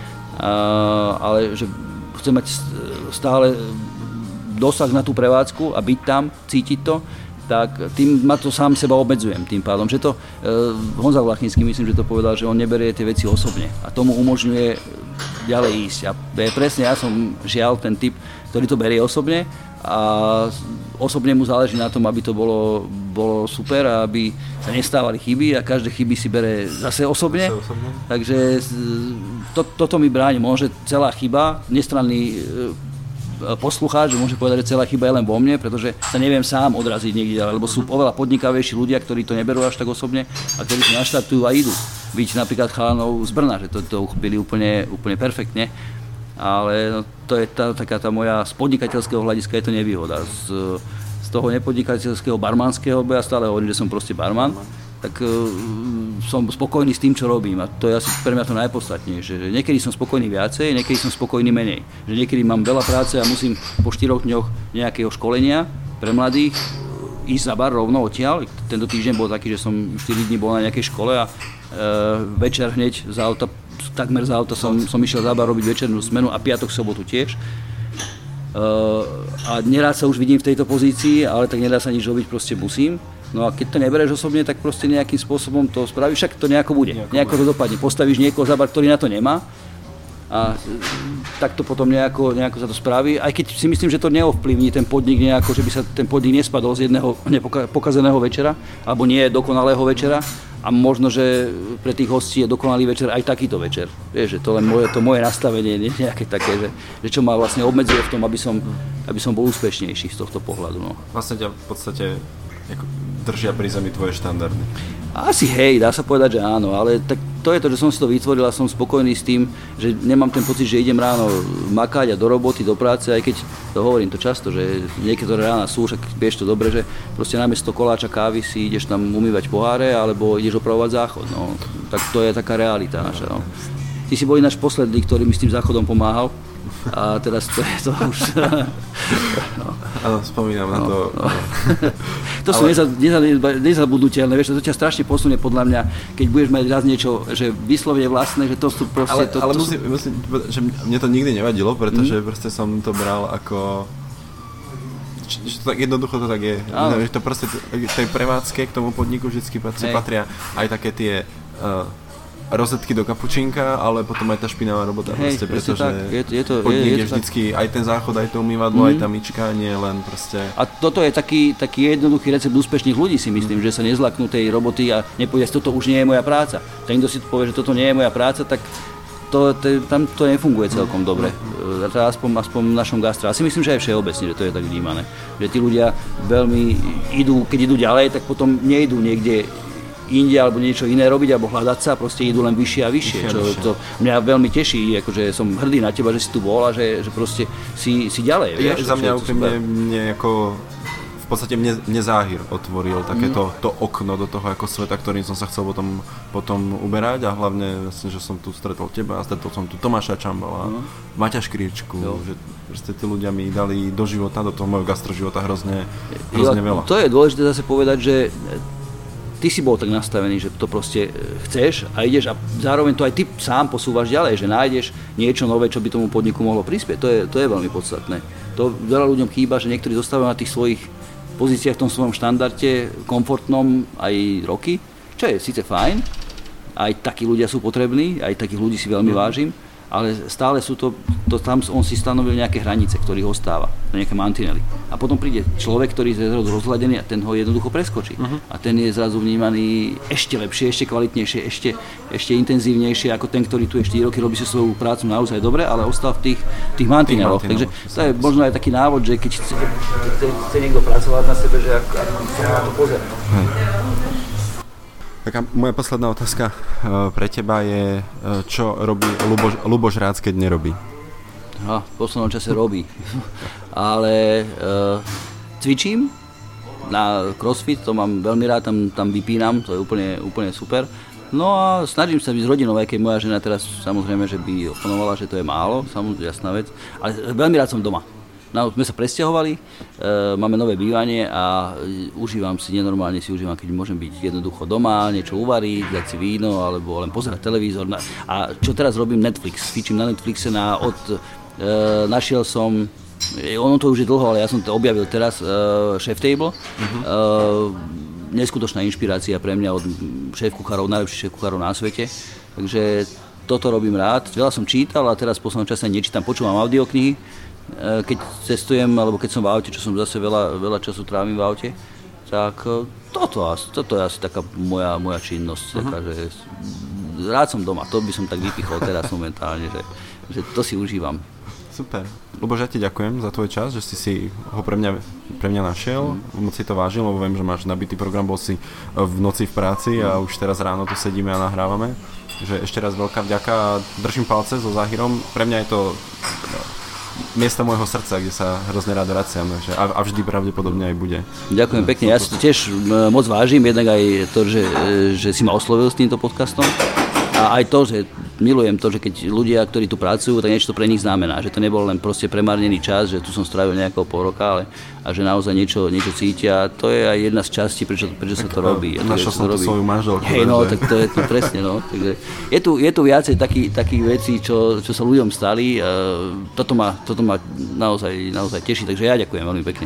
ale že chcem mať stále dosah na tú prevádzku a byť tam, cítiť to, tak tým ma to sám seba obmedzujem tým pádom, že to Honza Vlachinský, myslím, že to povedal, že on neberie tie veci osobne a tomu umožňuje ďalej ísť. A presne ja som žiaľ ten typ, ktorý to berie osobne a osobne mu záleží na tom, aby to bolo super a aby sa nestávali chyby a každé chyby si bere zase osobne. Takže toto mi bráni. Môže celá chyba, nestranný poslucháč, že môže povedať, že celá chyba je len vo mne, pretože sa neviem sám odraziť niekde, lebo sú oveľa podnikavejší ľudia, ktorí to neberú až tak osobne a ktorí to naštartujú a idú. Byť napríklad chalanov z Brna, že to uchopili úplne perfektne, ale no, to je taká tá moja z podnikateľského hľadiska je to nevýhoda. Z toho nepodnikateľského barmanského, bo ja stále hovorím, že som proste barman, tak som spokojný s tým, čo robím a to je asi pre mňa to najpodstatnejšie. Že niekedy som spokojný viacej, niekedy som spokojný menej. Že niekedy mám veľa práce a musím po 4 dňoch nejakého školenia pre mladých ísť za bar rovno odtiaľ. Tento týždeň bol taký, že som 4 dní bol na nejakej škole a večer hneď takmer z auta som išiel za bar robiť večernú smenu a piatok, sobotu tiež. A nerád sa už vidím v tejto pozícii, ale tak nedá sa nič robiť, proste musím. No a keď to nebereš osobne, tak proste nejakým spôsobom to spravíš, však to nejako bude, nejako to dopadne. Postavíš niekoho za bar, ktorý na to nemá a tak to potom nejako sa to spraví. Aj keď si myslím, že to neovplyvní ten podnik nejako, že by sa ten podnik nespadol z jedného pokazeného večera, alebo nie dokonalého večera a možno, že pre tých hostí je dokonalý večer aj takýto večer. Vieš, že to len moje nastavenie, nie nejaké také, že čo ma vlastne obmedzuje v tom, aby som bol úspešnejší z tohto pohľadu. No. Vlastne ťa v podstate držia pri zemi tvoje štandardy. Asi hej, dá sa povedať, že áno, ale tak to je to, že som si to vytvoril a som spokojný s tým, že nemám ten pocit, že idem ráno makať a do roboty, do práce, aj keď to hovorím to často, že niektoré rána sú, však vieš to dobre, že proste namiesto koláča kávy si ideš tam umývať poháre alebo ideš opravovať záchod, no, tak to je taká realita naša, no. Ty si bol ináč posledný, ktorý mi s tým záchodom pomáhal. A teraz to je to už... Áno, spomínam na to. No. To sú nezabudnutelné, vieš, to ťa strašne posunie podľa mňa, keď budeš mať raz niečo, že vyslovene vlastné, že to sú proste... Ale musím povedať, že mne to nikdy nevadilo, pretože proste som to bral ako... Tak jednoducho to tak je. Že to proste tej prevádzke k tomu podniku vždycky patria aj také tie... rozetky do kapučínka, ale potom aj tá špinavá robota, proste, pretože podnik je vždycky aj ten záchod, aj to umývadlo, aj tá myčka, nie len proste... A toto je taký jednoduchý recept úspešných ľudí, si myslím, že sa nezlaknú tej roboty a nepovie, že toto už nie je moja práca. Ten, kto si povie, že toto nie je moja práca, tak tam to nefunguje celkom dobre. Aspoň v našom gastro. A si myslím, že aj všeobecne, že to je tak vnímané. Že tí ľudia veľmi keď idú ďalej, tak potom nejdú niekde inde alebo niečo iné robiť alebo hľadať sa, proste idú len vyššie a vyššie. To mňa veľmi teší, akože som hrdý na teba, že si tu bol a že proste si ďalej. Za mňa úplne mne ako v podstate mne záhir otvoril takéto to okno do toho ako sveta, ktorým som sa chcel potom uberať a hlavne vlastne, že som tu stretol teba a stretol som tu Tomáša Čambala, Maťa Škričku, že proste tí ľudia mi dali do života, do toho môjho gastroživota hrozne veľa. To je dôležité zase povedať, že ty si bol tak nastavený, že to proste chceš a ideš a zároveň to aj ty sám posúvaš ďalej, že nájdeš niečo nové, čo by tomu podniku mohlo prispieť. To je veľmi podstatné. To veľa ľuďom chýba, že niektorí zostávajú na tých svojich pozíciách v tom svojom štandarde, komfortnom aj roky, čo je síce fajn, aj takí ľudia sú potrební, aj takých ľudí si veľmi vážim, ale stále sú tam on si stanovil nejaké hranice, ktorých ostáva, nejaké mantinely. A potom príde človek, ktorý je rozhľadený a ten ho jednoducho preskočí. A ten je zrazu vnímaný ešte lepšie, ešte kvalitnejšie, ešte intenzívnejšie ako ten, ktorý tu je 4 roky, robí si svoju prácu naozaj dobre, ale ostal v tých mantineloch. Takže to je možno aj taký návod, že keď chce niekto pracovať na sebe, že ako sa na to pozerá. Taká moja posledná otázka pre teba je, čo robí Ľuboš Rác, keď nerobí? V poslednom čase robí, ale cvičím na crossfit, to mám veľmi rád, tam vypínam, to je úplne super. No a snažím sa byť s rodinou, aj keď moja žena teraz samozrejme, že by oponovala, že to je málo, samozrejme jasná vec, ale veľmi rád som doma. No, sme sa presťahovali, máme nové bývanie a nenormálne si užívam, keď môžem byť jednoducho doma, niečo uvariť, dať si víno alebo len pozerať televízor. A čo teraz robím? Netflix, fičím na Netflixe našiel som, ono to už je dlho, ale ja som to objavil teraz, Chef Table. Neskutočná inšpirácia pre mňa od šéf-kuchárov, najlepších šéf-kuchárov na svete. Takže toto robím rád. Veľa som čítal a teraz v poslednom čase nečítam, počúvam audioknihy. Keď cestujem, alebo keď som v aute, čo som zase veľa času trávim v aute, tak toto je asi taká moja činnosť, taká, že rád som doma, to by som tak vypichol teraz momentálne, že to si užívam. Super. Luboš, ja ti ďakujem za tvoj čas, že si ho pre mňa našiel. Moc si to vážil, lebo viem, že máš nabitý program, bol si v noci v práci a už teraz ráno tu sedíme a nahrávame. Takže ešte raz veľká vďaka a držím palce so Záhirom. Pre mňa je to miesto môjho srdca, kde sa hrozne rád vraciam, a vždy pravdepodobne aj bude. Ďakujem pekne, ja si to tiež moc vážim, jednak aj to, že si ma oslovil s týmto podcastom a aj to, že milujem to, že keď ľudia, ktorí tu pracujú, tak niečo to pre nich znamená, že to nebol len proste premárnený čas, že tu som strávil nejakého pol roka, ale a že naozaj niečo cítia, to je aj jedna z častí, prečo sa to robí. Našiel som tu svoju manželku. Hej, no, tak to je to presne, no. Takže je tu viacej takých vecí, čo sa ľuďom stali. Toto ma naozaj teší, takže ja ďakujem veľmi pekne.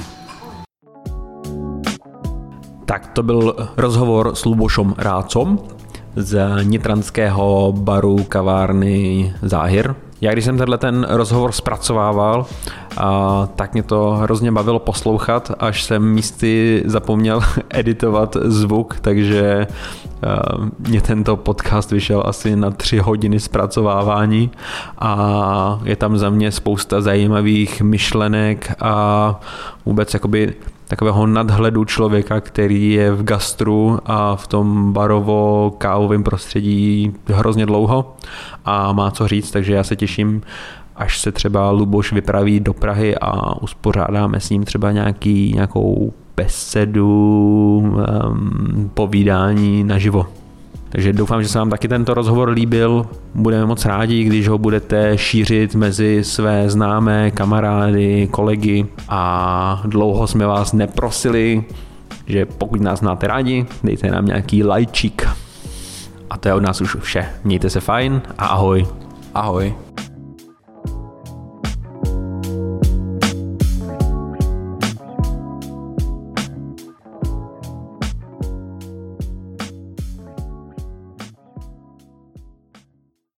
Tak to byl rozhovor s Lubošom Rácom z nitranského baru kavárny Záhir. Já když jsem ten rozhovor zpracovával, tak mě to hrozně bavilo poslouchat, až jsem místy zapomněl editovat zvuk, takže mě tento podcast vyšel asi na 3 hodiny zpracovávání a je tam za mě spousta zajímavých myšlenek a vůbec jakoby takového nadhledu člověka, který je v gastru a v tom barovo-kávovém prostředí hrozně dlouho a má co říct, takže já se těším, až se třeba Luboš vypraví do Prahy a uspořádáme s ním třeba nějakou besedu, povídání naživo. Takže doufám, že se vám taky tento rozhovor líbil. Budeme moc rádi, když ho budete šířit mezi své známé, kamarády, kolegy a dlouho jsme vás neprosili, že pokud nás máte rádi, dejte nám nějaký lajčík. A to je od nás už vše. Mějte se fajn a ahoj. Ahoj.